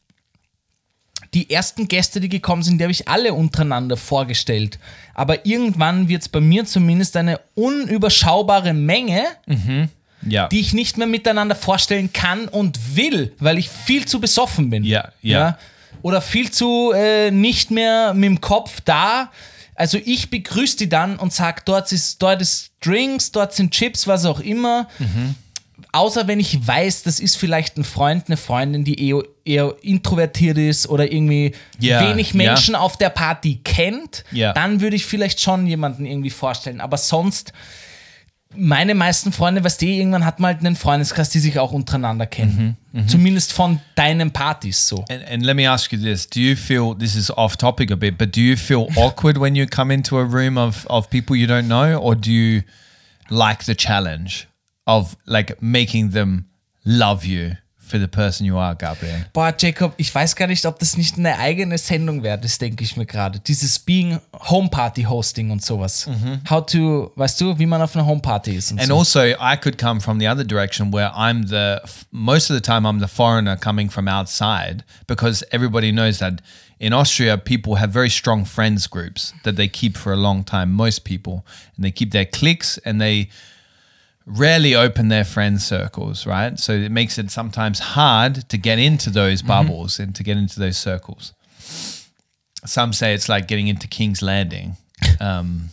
Die ersten Gäste, die gekommen sind, die habe ich alle untereinander vorgestellt. Aber irgendwann wird es bei mir zumindest eine unüberschaubare Menge, Yeah. die ich nicht mehr miteinander vorstellen kann und will, weil ich viel zu besoffen bin. Ja, ja. Oder viel zu äh, nicht mehr mit dem Kopf da. Also ich begrüße die dann und sage, dort ist, dort ist Drinks, dort sind Chips, was auch immer. Außer wenn ich weiß, das ist vielleicht ein Freund, eine Freundin, die eher, eher introvertiert ist oder irgendwie Ja, wenig Menschen auf der Party kennt, Ja. dann würde ich vielleicht schon jemanden irgendwie vorstellen. Aber sonst, meine meisten Freunde, weißt du, irgendwann hat man halt einen Freundeskreis, die sich auch untereinander kennen. Zumindest von deinen Partys so. And, and let me ask you this. Do you feel, this is off topic a bit, but do you feel awkward when you come into a room of, of people you don't know? Or do you like the challenge of like making them love you for the person you are, Gabriel? Boah, Jacob, ich weiß gar nicht, ob das nicht eine eigene Sendung wäre, das denke ich mir gerade. Dieses Being Homeparty Hosting und sowas. How to, weißt du, wie man auf einer Homeparty ist und And so. also, I could come from the other direction where I'm the, most of the time, I'm the foreigner coming from outside because everybody knows that in Austria, people have very strong friends groups that they keep for a long time, most people. And they keep their cliques and they rarely open their friend circles, right? So it makes it sometimes hard to get into those bubbles and to get into those circles. Some say it's like getting into King's Landing. Um,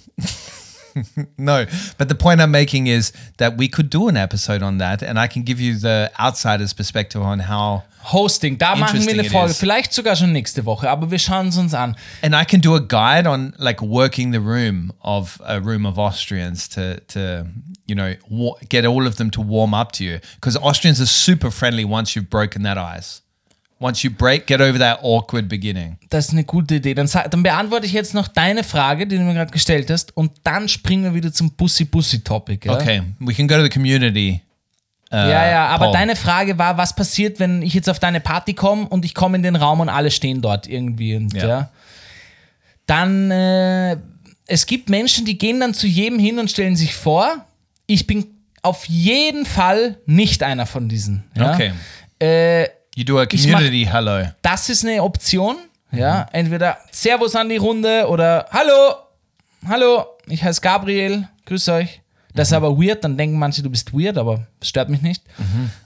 no, but the point I'm making is that we could do an episode on that and I can give you the outsider's perspective on how, Hosting, da machen wir Interesting eine it Folge, is. vielleicht sogar schon nächste Woche, aber wir schauen es uns an. and I can do a guide on like working the room of a room of Austrians to, to you know, wa- get all of them to warm up to you. Because Austrians are super friendly once you've broken that ice. Once you break, get over that awkward beginning. Das ist eine gute Idee. Dann, sa- dann beantworte ich jetzt noch deine Frage, die du mir gerade gestellt hast, und dann springen wir wieder zum Pussy-Pussy-Topic. Ja? Okay, we can go to the community. Uh, Ja, ja, aber poll. deine Frage war, was passiert, wenn ich jetzt auf deine Party komme und ich komme in den Raum und alle stehen dort irgendwie. Und, Ja. ja. Dann, äh, es gibt Menschen, die gehen dann zu jedem hin und stellen sich vor. Ich bin auf jeden Fall nicht einer von diesen. Ja? Okay. Äh, You do a Ich mach- community hello. das ist eine Option. Ja, entweder Servus an die Runde oder Hallo, hallo, ich heiße Gabriel, grüß euch. Das ist aber weird, dann denken manche, du bist weird, aber das stört mich nicht.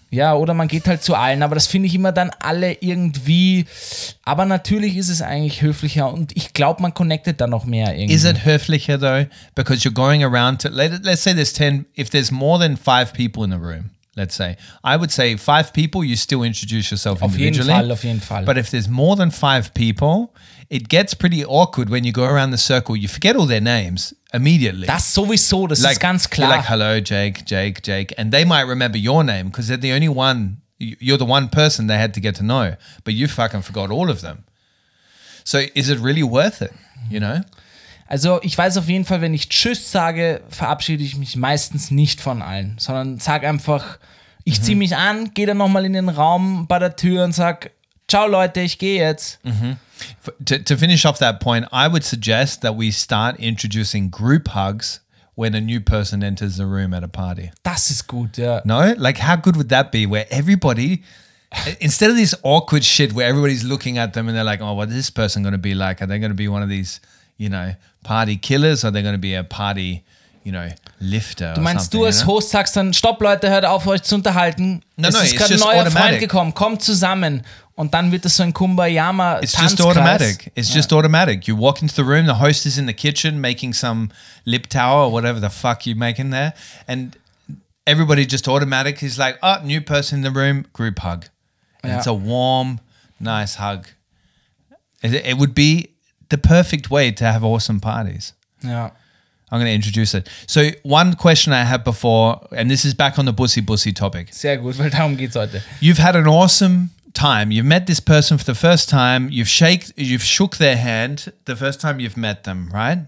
Ja, oder man geht halt zu allen, aber das finde ich immer dann alle irgendwie, aber natürlich ist es eigentlich höflicher und ich glaube, man connectet dann noch mehr irgendwie. Is it höflicher though? Because you're going around to, let, let's say there's ten, if there's more than five people in the room, let's say, I would say five people, you still introduce yourself Auf jeden individually. Fall, auf jeden Fall. But if there's more than five people, it gets pretty awkward when you go around the circle. You forget all their names immediately. Das sowieso, das ist ganz You're klar. like, hello, Jake, Jake, Jake. And they might remember your name because they're the only one, you're the one person they had to get to know. But you fucking forgot all of them. So is it really worth it, you know? Also ich weiß auf jeden Fall, wenn ich Tschüss sage, verabschiede ich mich meistens nicht von allen, sondern sag einfach, ich ziehe mich an, gehe dann nochmal in den Raum bei der Tür und sag, ciao Leute, ich gehe jetzt. To, to finish off that point, I would suggest that we start introducing group hugs when a new person enters the room at a party. Das ist gut, ja. No? Like, how good would that be? Where everybody, instead of this awkward shit where everybody's looking at them and they're like, oh, what's this person going to be like? Are they going to be one of these, you know, party killers? Or are they going to be a party, you know, lifter? Du meinst, du als Host sagst dann, stopp Leute, hört auf euch zu unterhalten. No, es no, ist it's gerade ein just neuer automatic. Freund gekommen, kommt zusammen. Und dann wird es so ein Kumbaya It's just Tanzkreis. automatic. It's just automatic. You walk into the room, the host is in the kitchen making some lip tower or whatever the fuck you're making there. And everybody just automatic is like, oh, new person in the room, group hug. And Yeah. it's a warm, nice hug. It, it would be the perfect way to have awesome parties. Ja. I'm going to introduce it. So one question I had before, and this is back on the bussy bussy topic. Sehr gut, weil darum geht's heute. You've had an awesome time. You've met this person for the first time. You've shake, you've shook their hand the first time you've met them, right?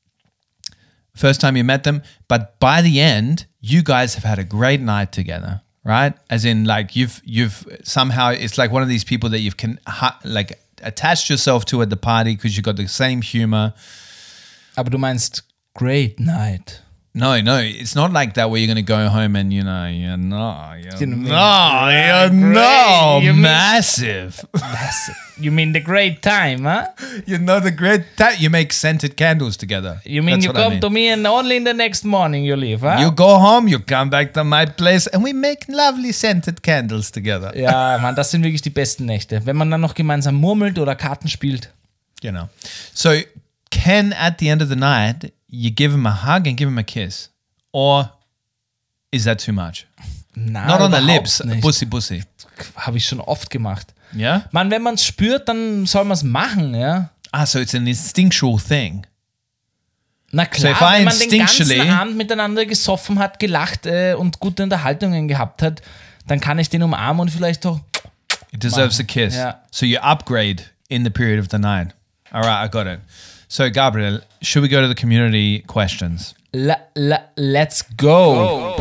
First time you met them, but by the end, you guys have had a great night together, right? As in, like you've you've somehow it's like one of these people that you've can ha- like attached yourself to at the party because you got the same humor. Aber du meinst Great Night. No, no, it's not like that where you're going to go home and, you know, you know, you Didn't mean- know, Yeah, you know, great. You mean- massive. You mean the great time, huh? You know the great that you make scented candles together. You mean That's you what I come mean. to me and only in the next morning you leave, huh? You go home, you come back to my place, and we make lovely scented candles together. Ja, Mann, das sind wirklich die besten Nächte. Wenn man dann noch gemeinsam murmelt oder Karten spielt. You know. So can at the end of the night you give him a hug and give him a kiss, or is that too much? Na, Not on the überhaupt lips, nicht. bussy bussy. Habe ich schon oft gemacht. Yeah. Mann, wenn man es spürt, dann soll man es machen, ja. Ah, so it's an instinctual thing. Na So klar, if I wenn man den ganzen instinctually- Abend miteinander gesoffen hat, gelacht äh, und gute Unterhaltungen gehabt hat, dann kann ich den umarmen und vielleicht doch. It deserves a kiss. Yeah. So you upgrade in the period of the night. All right, I got it. So Gabriel, should we go to the community questions? La, la, let's go.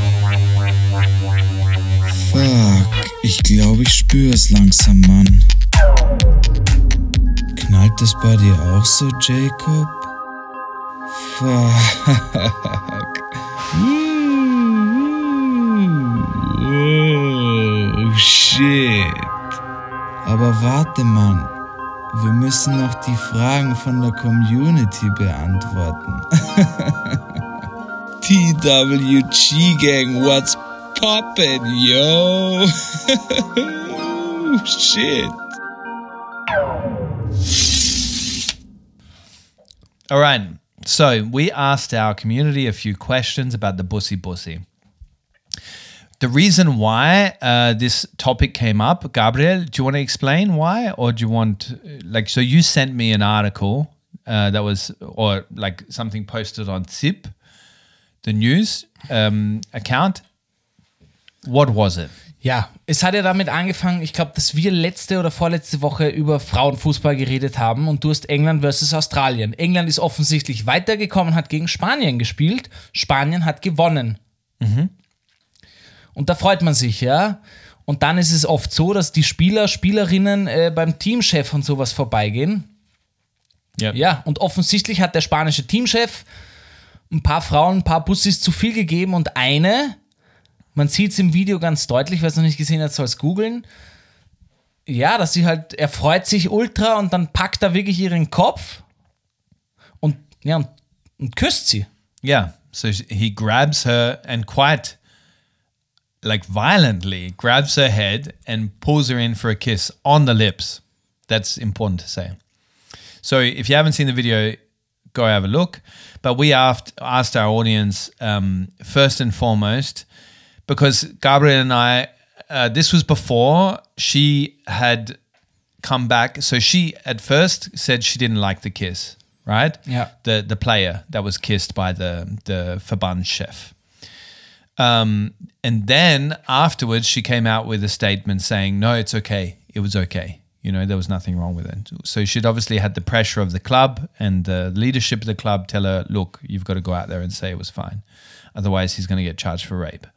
Fuck, ich glaube, ich spüre es langsam, Mann. Knallt das bei dir auch so, Jacob? Fuck. Oh, shit. Aber warte, Mann. Wir müssen noch die Fragen von der Community beantworten. T W G Gang, what's poppin', yo? Shit. All right. So we asked our community a few questions about the bussy bussy. The reason why uh, this topic came up, Gabriel, do you want to explain why, or do you want like so? You sent me an article uh, that was, or like something posted on Zip, the news um, account. What was it? Ja, es hat ja damit angefangen, ich glaube, dass wir letzte oder vorletzte Woche über Frauenfußball geredet haben und du hast England versus Australien. England ist offensichtlich weitergekommen, hat gegen Spanien gespielt. Spanien hat gewonnen. Mhm. Und da freut man sich, ja. Und dann ist es oft so, dass die Spieler, Spielerinnen äh, beim Teamchef und sowas vorbeigehen. Yep. Ja, und offensichtlich hat der spanische Teamchef ein paar Frauen, ein paar Bussis zu viel gegeben und eine, man sieht es im Video ganz deutlich, wer es noch nicht gesehen hat, soll es googeln. Ja, dass sie halt, er freut sich ultra und dann packt er wirklich ihren Kopf und, ja, und, und küsst sie. Yeah. So he grabs her and quite like violently grabs her head and pulls her in for a kiss on the lips. That's important to say. So if you haven't seen the video, go have a look. But we asked, asked our audience, um, first and foremost, because Gabriel and I, uh, this was before she had come back. So she at first said she didn't like the kiss, right? Yeah. The the player that was kissed by the, the Verbandschef. Um, and then afterwards, she came out with a statement saying, no, it's okay. It was okay. You know, there was nothing wrong with it. So she'd obviously had the pressure of the club and the leadership of the club tell her, look, you've got to go out there and say it was fine. Otherwise, he's going to get charged for rape.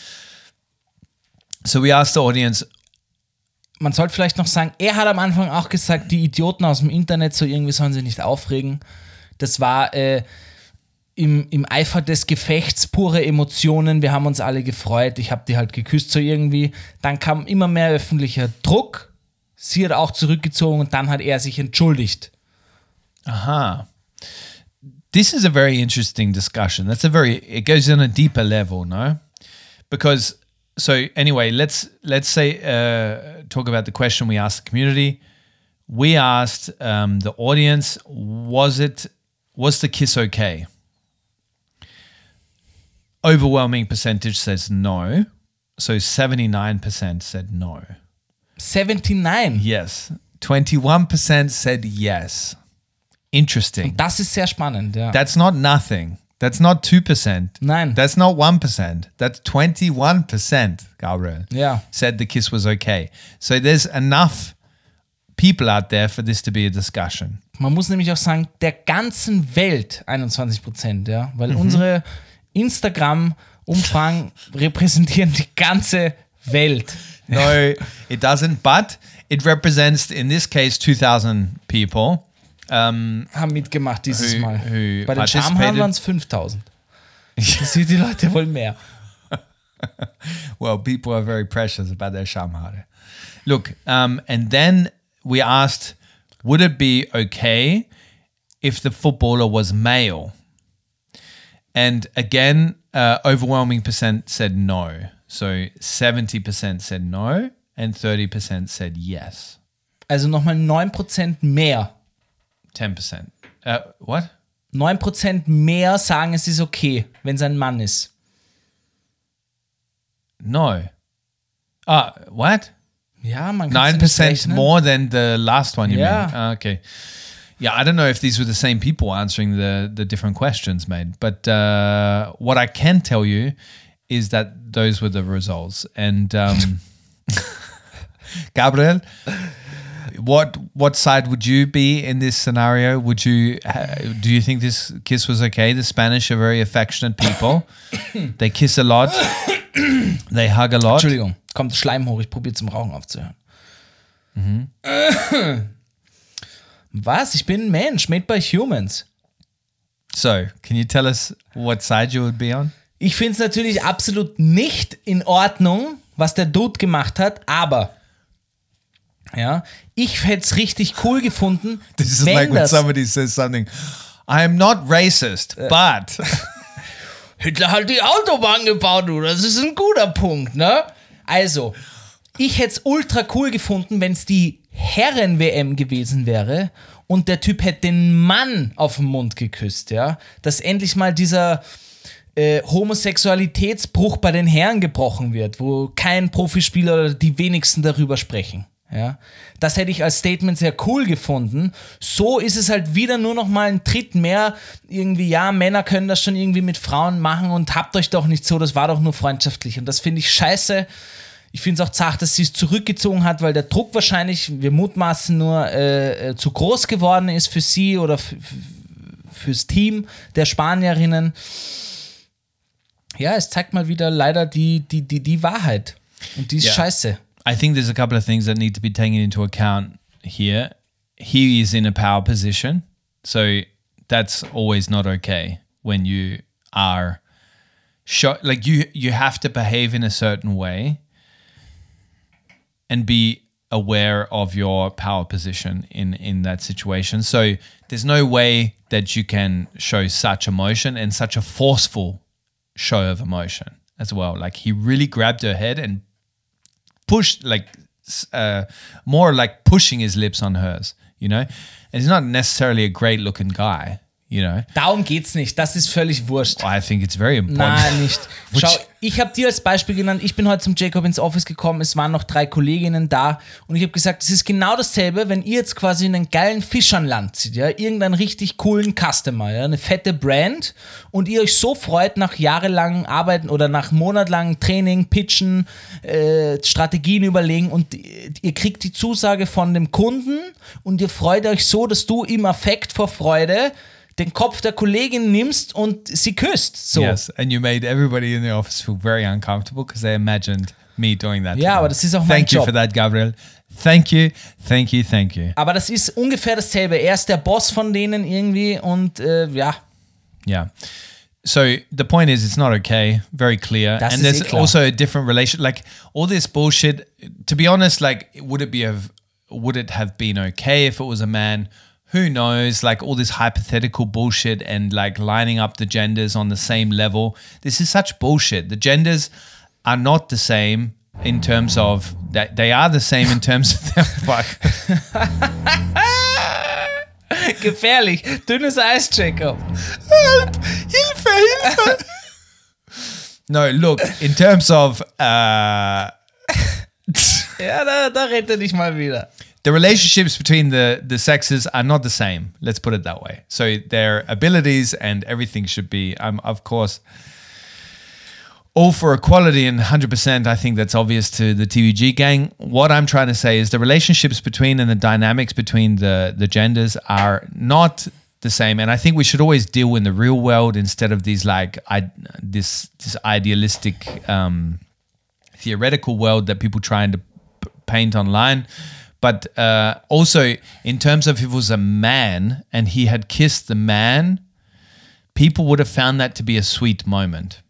So we asked the audience. Man sollte vielleicht noch sagen, er hat am Anfang auch gesagt, die Idioten aus dem Internet, so irgendwie sollen sie nicht aufregen. Das war äh, im, im Eifer des Gefechts pure Emotionen. Wir haben uns alle gefreut. Ich habe die halt geküsst so irgendwie. Dann kam immer mehr öffentlicher Druck. Sie hat auch zurückgezogen und dann hat er sich entschuldigt. Aha. This is a very interesting discussion. That's a very, it goes on a deeper level, no? Because, so anyway, let's let's say, uh, talk about the question we asked the community. We asked um, the audience, was it, was the kiss okay? Overwhelming percentage says no. So seventy-nine percent said no. seventy-nine. Yes. twenty-one percent said yes. Interesting. Das ist sehr spannend, ja. That's not nothing. That's not two percent. Nein. That's not one percent. That's twenty-one percent, Gabriel. Ja. Said the kiss was okay. So there's enough people out there for this to be a discussion. Man muss nämlich auch sagen, der ganzen Welt einundzwanzig Prozent, ja. Weil unsere Instagram-Umfragen repräsentieren die ganze Welt. No, it doesn't, but it represents, in this case, two thousand people. Um, Haben mitgemacht dieses Who- Mal. who Bei den Schamhaaren participated. waren es fünftausend. Das sieht die Leute wohl mehr. Well, people are very precious about their Schamhaare. Look, um, and then we asked, would it be okay if the footballer was male? And again, uh, overwhelming percent said no. So seventy percent said no and thirty percent said yes. Also nochmal neun Prozent mehr. ten percent. Uh, what? neun Prozent mehr sagen, es ist okay, wenn es ein Mann ist. No. Ah, what? Ja, man kann nine nicht percent rechnen. more than the last one, you Yeah. mean? Ah, okay. Yeah, I don't know if these were the same people answering the, the different questions, mate. But uh, what I can tell you is that those were the results. And um, Gabriel, what what side would you be in this scenario? Would you uh, do you think this kiss was okay? The Spanish are very affectionate people. They kiss a lot. They hug a lot. Entschuldigung, kommt Schleim hoch, ich probiere zum Rauchen aufzuhören. Mhm. Was? Ich bin ein Mensch, made by humans. So, can you tell us what side you would be on? Ich finde es natürlich absolut nicht in Ordnung, was der Dude gemacht hat, aber ja, ich hätte es richtig cool gefunden, This is wenn like when das somebody says something, I am not racist, but Hitler hat die Autobahn gebaut, du, das ist ein guter Punkt, ne? Also, ich hätte es ultra cool gefunden, wenn es die Herren-W M gewesen wäre und der Typ hätte den Mann auf den Mund geküsst, ja? Dass endlich mal dieser äh, Homosexualitätsbruch bei den Herren gebrochen wird, wo kein Profispieler oder die wenigsten darüber sprechen. Ja, das hätte ich als Statement sehr cool gefunden. So ist es halt wieder nur noch mal ein Tritt mehr. Irgendwie, ja, Männer können das schon irgendwie mit Frauen machen und habt euch doch nicht so, das war doch nur freundschaftlich. Und das finde ich scheiße. Ich finde es auch zart, dass sie es zurückgezogen hat, weil der Druck wahrscheinlich, wir mutmaßen nur, äh, zu groß geworden ist für sie oder f- f- fürs Team der Spanierinnen. Ja, es zeigt mal wieder leider die, die, die, die Wahrheit. Und die ist Ja. scheiße. I think there's a couple of things that need to be taken into account here. He is in a power position, so that's always not okay when you are show, like you you have to behave in a certain way and be aware of your power position in in that situation. So there's no way that you can show such emotion and such a forceful show of emotion as well. Like he really grabbed her head and pushed, like uh, more like pushing his lips on hers, you know? And he's not necessarily a great looking guy, you know? Darum geht's nicht. Das ist völlig wurscht. I think it's very important. Nein, nicht. Which- Schau, ich habe dir als Beispiel genannt, ich bin heute zum Jacob ins Office gekommen, es waren noch drei Kolleginnen da und ich habe gesagt, es ist genau dasselbe, wenn ihr jetzt quasi einen geilen Fisch an Land zieht, ja, irgendeinen richtig coolen Customer, ja, eine fette Brand und ihr euch so freut nach jahrelangem Arbeiten oder nach monatelangem Training, Pitchen, äh, Strategien überlegen und ihr kriegt die Zusage von dem Kunden und ihr freut euch so, dass du im Affekt vor Freude den Kopf der Kollegin nimmst und sie küsst. So. Yes, and you made everybody in the office feel very uncomfortable because they imagined me doing that. to Ja, them. aber das ist auch mein Thank you Job. for that, Gabriel. Thank you, thank you, thank you. Aber das ist ungefähr dasselbe. Er ist der Boss von denen irgendwie und äh, ja. Yeah. So the point is, it's not okay. Very clear. Das and ist there's eh klar. also a different relation. Like all this bullshit. To be honest, like would it be have would it have been okay if it was a man? Who knows? Like all this hypothetical bullshit and like lining up the genders on the same level. This is such bullshit. The genders are not the same in terms of that. They are the same in terms of their fuck. Gefährlich. Dünnes Eis, Jacob. Hilfe, Hilfe. No, look, in terms of uh, Ja, da, da rette dich mal wieder. the relationships between the, the sexes are not the same. Let's put it that way. So their abilities and everything should be, um, of course, all for equality and one hundred percent. I think that's obvious to the T V G gang. What I'm trying to say is the relationships between and the dynamics between the, the genders are not the same. And I think we should always deal in the real world instead of these like I, this this idealistic um, theoretical world that people trying to p- paint online. But uh, also in terms of if it was a man and he had kissed the man, people would have found that to be a sweet moment.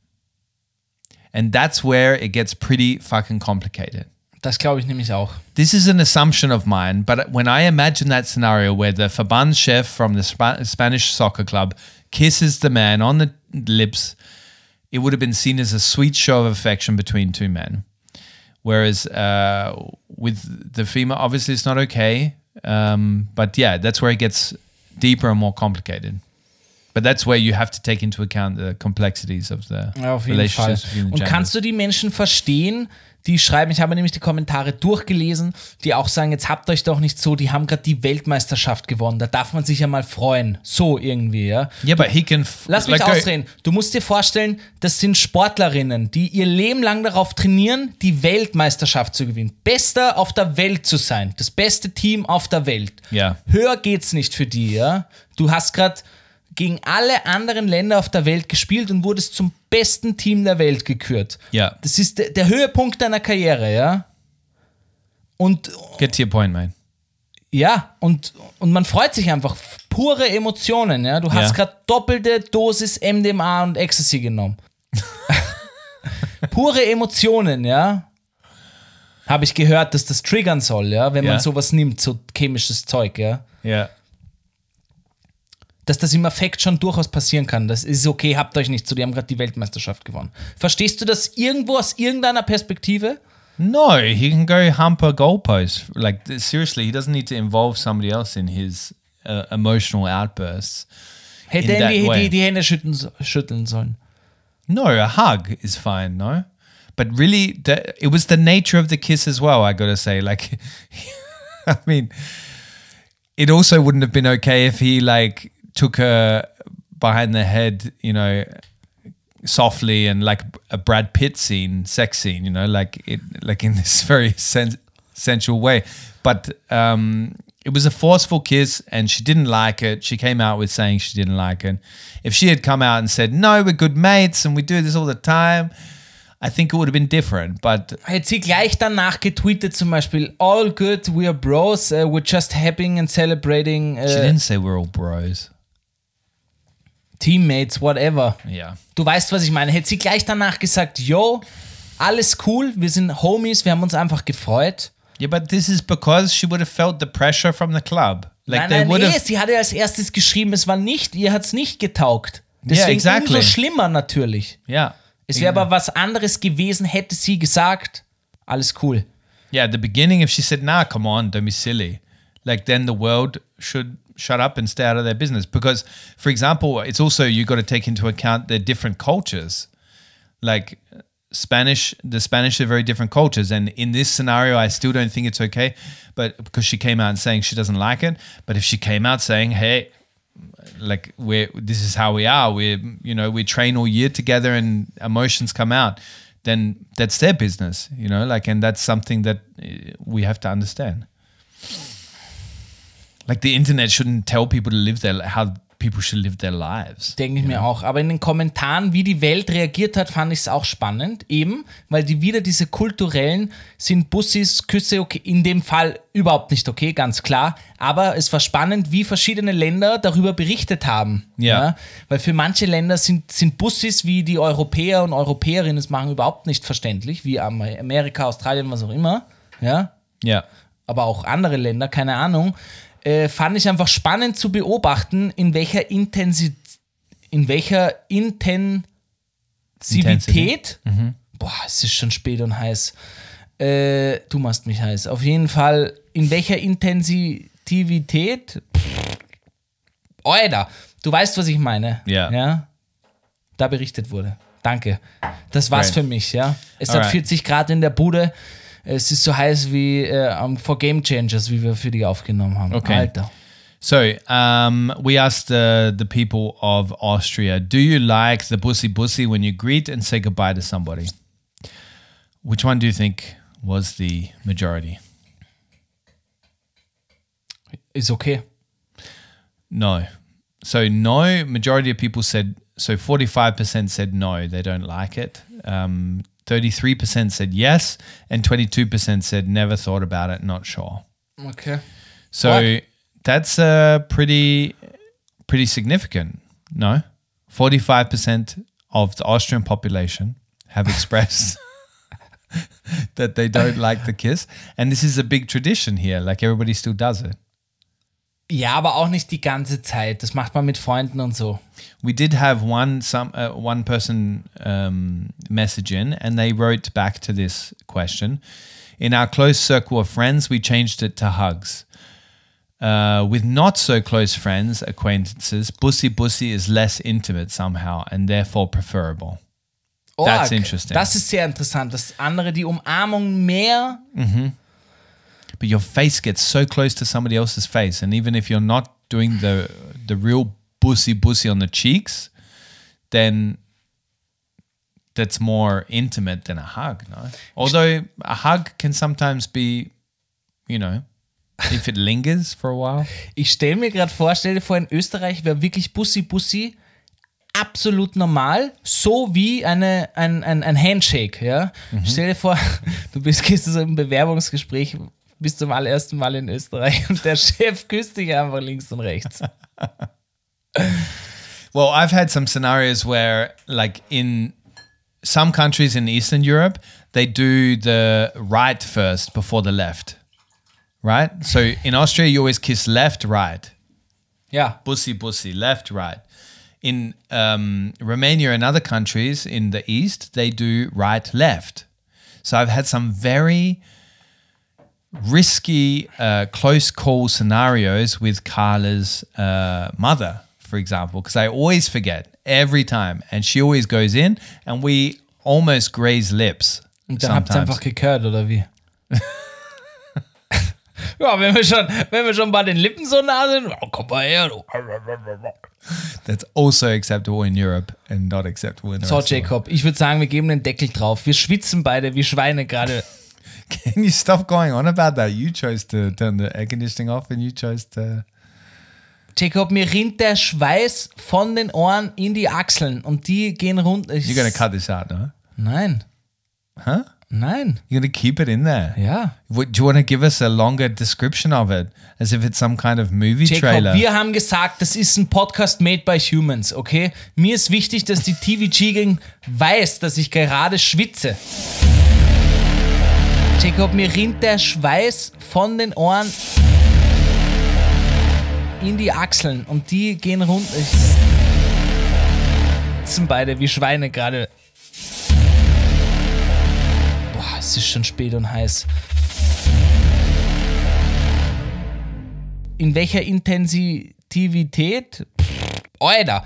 And that's where it gets pretty fucking complicated. Das glaube ich nämlich auch. This is an assumption of mine, but when I imagine that scenario where the Verbandschef from the Sp- Spanish soccer club kisses the man on the lips, it would have been seen as a sweet show of affection between two men. Whereas uh, with the female, obviously it's not okay. Um, but yeah, that's where it gets deeper and more complicated. But that's where you have to take into account the complexities of the Ja, auf jeden Fall. relationships between the Und genders. kannst du die Menschen verstehen, die schreiben, ich habe nämlich die Kommentare durchgelesen, die auch sagen, jetzt habt euch doch nicht so, die haben gerade die Weltmeisterschaft gewonnen, da darf man sich ja mal freuen. So irgendwie, ja. Yeah, but he can... F- Lass mich like, go- ausreden. Du musst dir vorstellen, das sind Sportlerinnen, die ihr Leben lang darauf trainieren, die Weltmeisterschaft zu gewinnen. Bester auf der Welt zu sein. Das beste Team auf der Welt. Ja. Höher geht's nicht für die, ja. Du hast gerade gegen alle anderen Länder auf der Welt gespielt und wurdest zum besten Team der Welt gekürt. Ja. Das ist der, der Höhepunkt deiner Karriere, ja. Und Get to your point, man. ja, und, und man freut sich einfach. Pure Emotionen, ja. Du hast Ja. gerade doppelte Dosis M D M A und Ecstasy genommen. Pure Emotionen, ja. Habe ich gehört, dass das triggern soll, ja, wenn Ja. man sowas nimmt, so chemisches Zeug, ja. Yeah. Dass das im Affekt schon durchaus passieren kann. Das ist okay, habt euch nicht so, die haben gerade die Weltmeisterschaft gewonnen. Verstehst du das irgendwo aus irgendeiner Perspektive? No, he can go hump a goalpost. Like, th- seriously, he doesn't need to involve somebody else in his uh, emotional outbursts. Hätte In er that die, way. die, die Hände schütteln, so- schütteln sollen. No, a hug is fine, no? But really, the, it was the nature of the kiss as well, I gotta say. Like, I mean, it also wouldn't have been okay if he, like, took her behind the head, you know, softly and like a Brad Pitt scene, sex scene, you know, like it, like in this very sen- sensual way. But um, it was a forceful kiss, and she didn't like it. She came out with saying she didn't like it. If she had come out and said, "No, we're good mates and we do this all the time," I think it would have been different. But Hätte sie gleich danach getweetet zum Beispiel, all good, we are bros, uh, we're just happy and celebrating she uh, didn't say we're all bros. Teammates, whatever. Yeah. Du weißt, was ich meine. Hätte sie gleich danach gesagt, yo, alles cool, wir sind Homies, wir haben uns einfach gefreut. Yeah, but this is because she would have felt the pressure from the club. Like nein, they nein, would nee, have. sie hatte als erstes geschrieben, es war nicht, ihr hat's nicht getaugt. Yeah, Deswegen exactly. umso schlimmer natürlich. Yeah. Es wäre aber was anderes gewesen, hätte sie gesagt, alles cool. Yeah, at the beginning, if she said, nah, come on, don't be silly, like then the world should shut up and stay out of their business. Because, for example, it's also, you got to take into account their different cultures. Like Spanish, the Spanish are very different cultures. And in this scenario, I still don't think it's okay, but because she came out saying she doesn't like it. But if she came out saying, hey, like we're, this is how we are, we're, you know, we train all year together and emotions come out, then that's their business, you know, like, and that's something that we have to understand. Like the internet shouldn't tell people to live their, how people should live their lives. Denke ich mir auch. Aber in den Kommentaren, wie die Welt reagiert hat, fand ich es auch spannend. Eben, weil die wieder diese kulturellen, sind Bussis, Küsse okay, in dem Fall überhaupt nicht okay, ganz klar. Aber es war spannend, wie verschiedene Länder darüber berichtet haben. Ja. Ja? Weil für manche Länder sind, sind Bussis, wie die Europäer und Europäerinnen es machen, überhaupt nicht verständlich. Wie Amerika, Australien, was auch immer. Ja. Ja. Aber auch andere Länder, keine Ahnung. Äh, fand ich einfach spannend zu beobachten, in welcher Intensität, in welcher Intensivität, Mhm. boah, es ist schon spät und heiß, äh, du machst mich heiß, auf jeden Fall, in welcher Intensivität, pff, Alter, du weißt, was ich meine, Ja. ja, da berichtet wurde. Danke, das war's Right. für mich, ja. Es Alright. hat vierzig Grad in der Bude. Es ist so heiß wie äh, um, for Game Changers, wie wir für die aufgenommen haben. Okay. Alter. So, um, we asked the, the people of Austria, do you like the bussy bussy when you greet and say goodbye to somebody? Which one do you think was the majority? Ist okay. No. So no, majority of people said, so forty-five percent said no, they don't like it. Um, thirty-three percent said yes, and twenty-two percent said never thought about it, not sure. Okay. So What? that's uh, pretty, pretty significant. No, forty-five percent of the Austrian population have expressed that they don't like the kiss, and this is a big tradition here. Like everybody still does it. Ja, aber auch nicht die ganze Zeit. Das macht man mit Freunden und so. We did have one some uh, one person um, message in, and they wrote back to this question. In our close circle of friends, we changed it to hugs. Uh, with not so close friends, acquaintances, bussy bussy is less intimate somehow and therefore preferable. That's Org. interesting. Das ist sehr interessant, dass andere die Umarmung mehr... But your face gets so close to somebody else's face, and even if you're not doing the the real bussy bussy on the cheeks, then that's more intimate than a hug, no? Although a hug can sometimes be, you know, if it lingers for a while. Ich stelle mir gerade vor, stell dir vor, in Österreich wäre wirklich Bussi Bussi absolut normal, so wie eine, ein, ein, ein Handshake, ja. Mhm. Stell dir vor, du bist, gehst so im Bewerbungsgespräch, bist zum allerersten Mal in Österreich und der Chef küsst dich einfach links und rechts. Well, I've had some scenarios where, like in some countries in Eastern Europe, they do the right first before the left, right? So in Austria, you always kiss left, right. Ja. Bussy, bussy, left, right. In um, Romania and other countries in the East, they do right, left. So I've had some very risky uh, close call scenarios with Carla's uh, mother, for example, because I always forget every time. And she always goes in and we almost graze lips. Und dann habt ihr sometimes. einfach gekürt, oder wie? Ja, wenn wir schon, wenn wir schon bei den Lippen so nah sind, oh, komm mal her, du. That's also acceptable in Europe and not acceptable in the So, rest of the world. Jacob, ich würde sagen, wir geben den Deckel drauf. Wir schwitzen beide wie Schweine gerade. Can you stop going on about that? You chose to turn the air conditioning off and you chose to... Jacob, mir rinnt der Schweiß von den Ohren in die Achseln und die gehen runter. You're going to cut this out, no? Nein. Huh? Nein. You're going to keep it in there? Ja. What, do you want to give us a longer description of it? As if it's some kind of movie Jacob, trailer? wir haben gesagt, das ist ein Podcast made by humans, okay? Mir ist wichtig, dass die T V G-Gang weiß, dass ich gerade schwitze. Jacob, mir rinnt der Schweiß von den Ohren in die Achseln und die gehen runter. Ich sitzen beide wie Schweine gerade. es ist schon spät und heiß. In welcher Intensivität? Pff, Alter!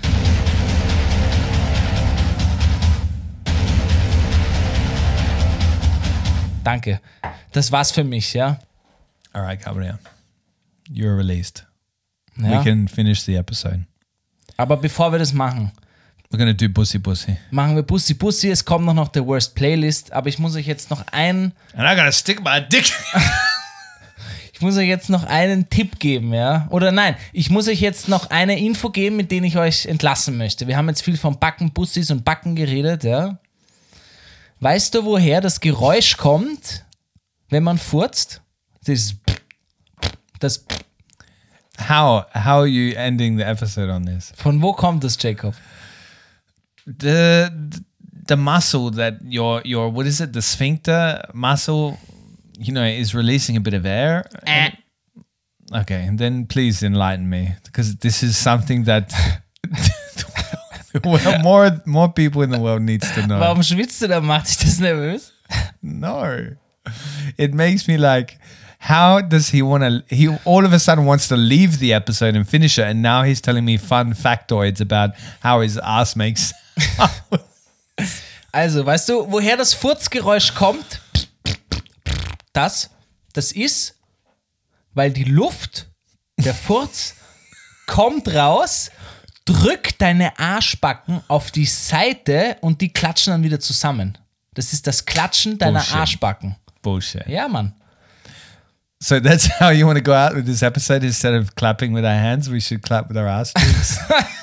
Danke. Das war's für mich, ja? All right, Gabriel. You're released. ja? We can finish the episode. Aber bevor wir das machen, We're gonna do Bussy Bussy. machen wir Bussi Bussi. Es kommt noch, noch der Worst Playlist, aber ich muss euch jetzt noch einen, And I'm gonna stick my dick. ich muss euch jetzt noch einen Tipp geben, ja? Oder nein, ich muss euch jetzt noch eine Info geben, mit denen ich euch entlassen möchte. Wir haben jetzt viel von Backen, Bussis und Backen geredet, ja? Weißt du, woher das Geräusch kommt, wenn man furzt? Das, das, How how are you ending the episode on this? von wo kommt das, Jacob? The the muscle that your your what is it? The sphincter muscle, you know, is releasing a bit of air. Äh. Okay, and then please enlighten me, because this is something that well, more more people in the world needs to know. Warum schwitzt du da? Macht dich das nervös? No, it makes me like, how does he want to? He all of a sudden wants to leave the episode and finish it, and now he's telling me fun factoids about how his ass makes. Also, weißt du, woher das Furzgeräusch kommt? Das, das ist, weil die Luft, der Furz, kommt raus, drückt deine Arschbacken auf die Seite und die klatschen dann wieder zusammen. Das ist das Klatschen deiner Bullshit. Arschbacken. Bullshit. Ja, Mann. So that's how you want to go out with this episode. Instead of clapping with our hands, we should clap with our ass cheeks.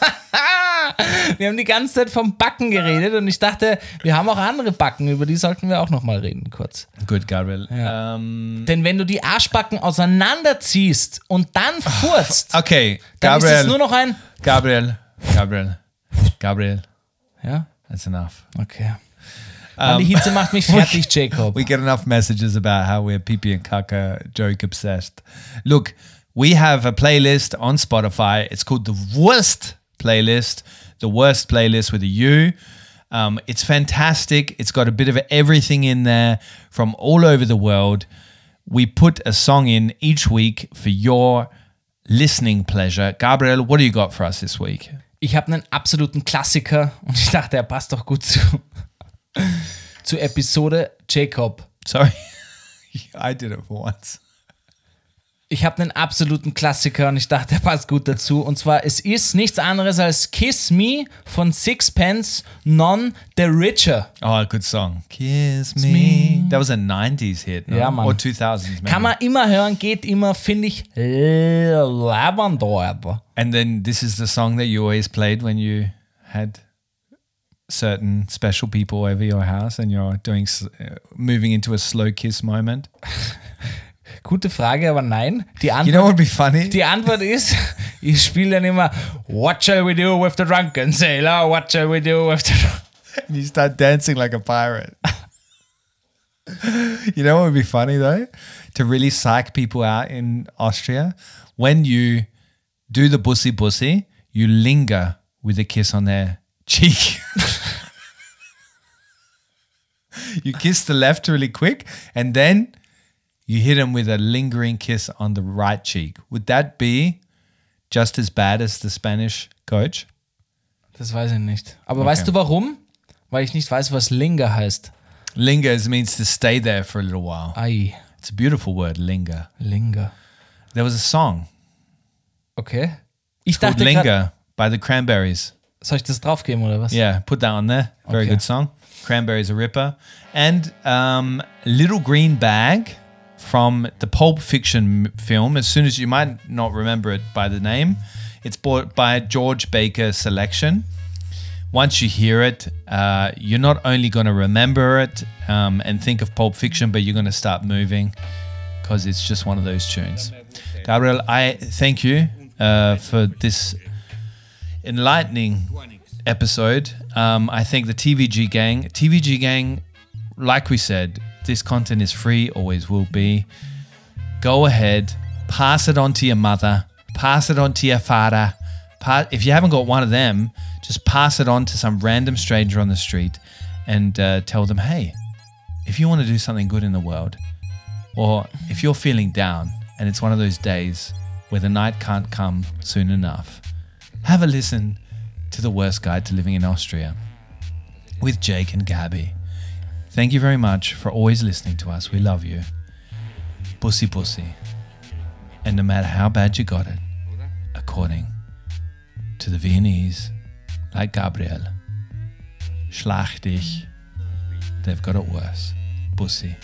Wir haben die ganze Zeit vom Backen geredet und ich dachte, wir haben auch andere Backen, über die sollten wir auch nochmal reden, kurz. Good, Gabriel. Um, Denn wenn du die Arschbacken auseinanderziehst und dann furzt, okay, dann ist es Gabriel. nur noch ein... Gabriel. Gabriel. Gabriel. Ja, That's enough. okay. Mann, die Hitze macht mich fertig, Jacob. We get enough messages about how we're pee pee and caca joke obsessed. Look, we have a playlist on Spotify. It's called the Worst Playlist. The Worst Playlist with a U. Um, it's fantastic. It's got a bit of everything in there from all over the world. We put a song in each week for your listening pleasure. Gabriel, what do you got for us this week? Ich habe einen absoluten Klassiker und ich dachte, er passt doch gut zu, zu Episode Jacob. Sorry, I did it for once. Ich habe einen absoluten Klassiker und ich dachte, er passt gut dazu. Und zwar, es ist nichts anderes als Kiss Me von Sixpence None the Richer. Oh, good song. Kiss me. That was a nineties hit, no? Ja, Mann. Or two thousands, maybe. Kann man immer hören, geht immer, finde ich, Lavendor. And then this is the song that you always played when you had certain special people over your house and you're doing s- uh, moving into a slow kiss moment. Gute Frage, aber nein. Die Antwort, You know what would be funny? die Antwort ist, ich spiele dann immer What shall we do with the drunken sailor? What shall we do with the... And you start dancing like a pirate. You know what would be funny though? To really psych people out in Austria, when you do the bussy bussy, you linger with a kiss on their cheek. You kiss the left really quick and then you hit them with a lingering kiss on the right cheek. Would that be just as bad as the Spanish coach? Das weiß ich nicht. Aber weißt du warum? Weil ich nicht weiß, was Linger heißt. Linger means to stay there for a little while. Ai, It's a beautiful word, linger. Linger. There was a song Okay. Ich called dachte grad, Linger by the Cranberries. soll ich das draufgeben oder was? Yeah, put that on there. Very Okay. good song. Cranberries a ripper. And um, Little Green Bag from the Pulp Fiction m- film. As soon as you might not remember it by the name, it's bought by George Baker Selection. Once you hear it, uh, you're not only going to remember it um, and think of Pulp Fiction, but you're going to start moving because it's just one of those tunes. Gabriel, I thank you uh, for this enlightening episode. Um, I think the T V G gang, T V G gang, like we said, this content is free, always will be. Go ahead, pass it on to your mother, pass it on to your father. Pa- if you haven't got one of them, just pass it on to some random stranger on the street and uh, tell them, hey, if you want to do something good in the world, or if you're feeling down and it's one of those days where the night can't come soon enough, have a listen to The Worst Guide to Living in Austria with Jake and Gabby. Thank you very much for always listening to us. We love you. Pussy pussy. And no matter how bad you got it, according to the Viennese, like Gabriel, schlag dich, they've got it worse. Pussy.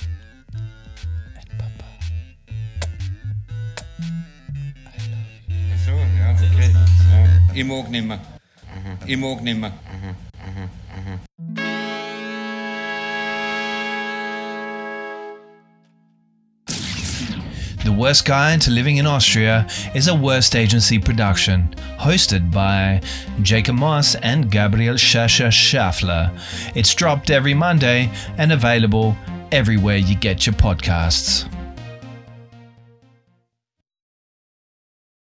So, ja, okay. Ja. Ich mag nimmer. Ich mag nimmer. The Worst Guide to Living in Austria is a Worst Agency production, hosted by Jacob Moss and Gabriel Schascher Schaffler. It's dropped every Monday and available everywhere you get your podcasts.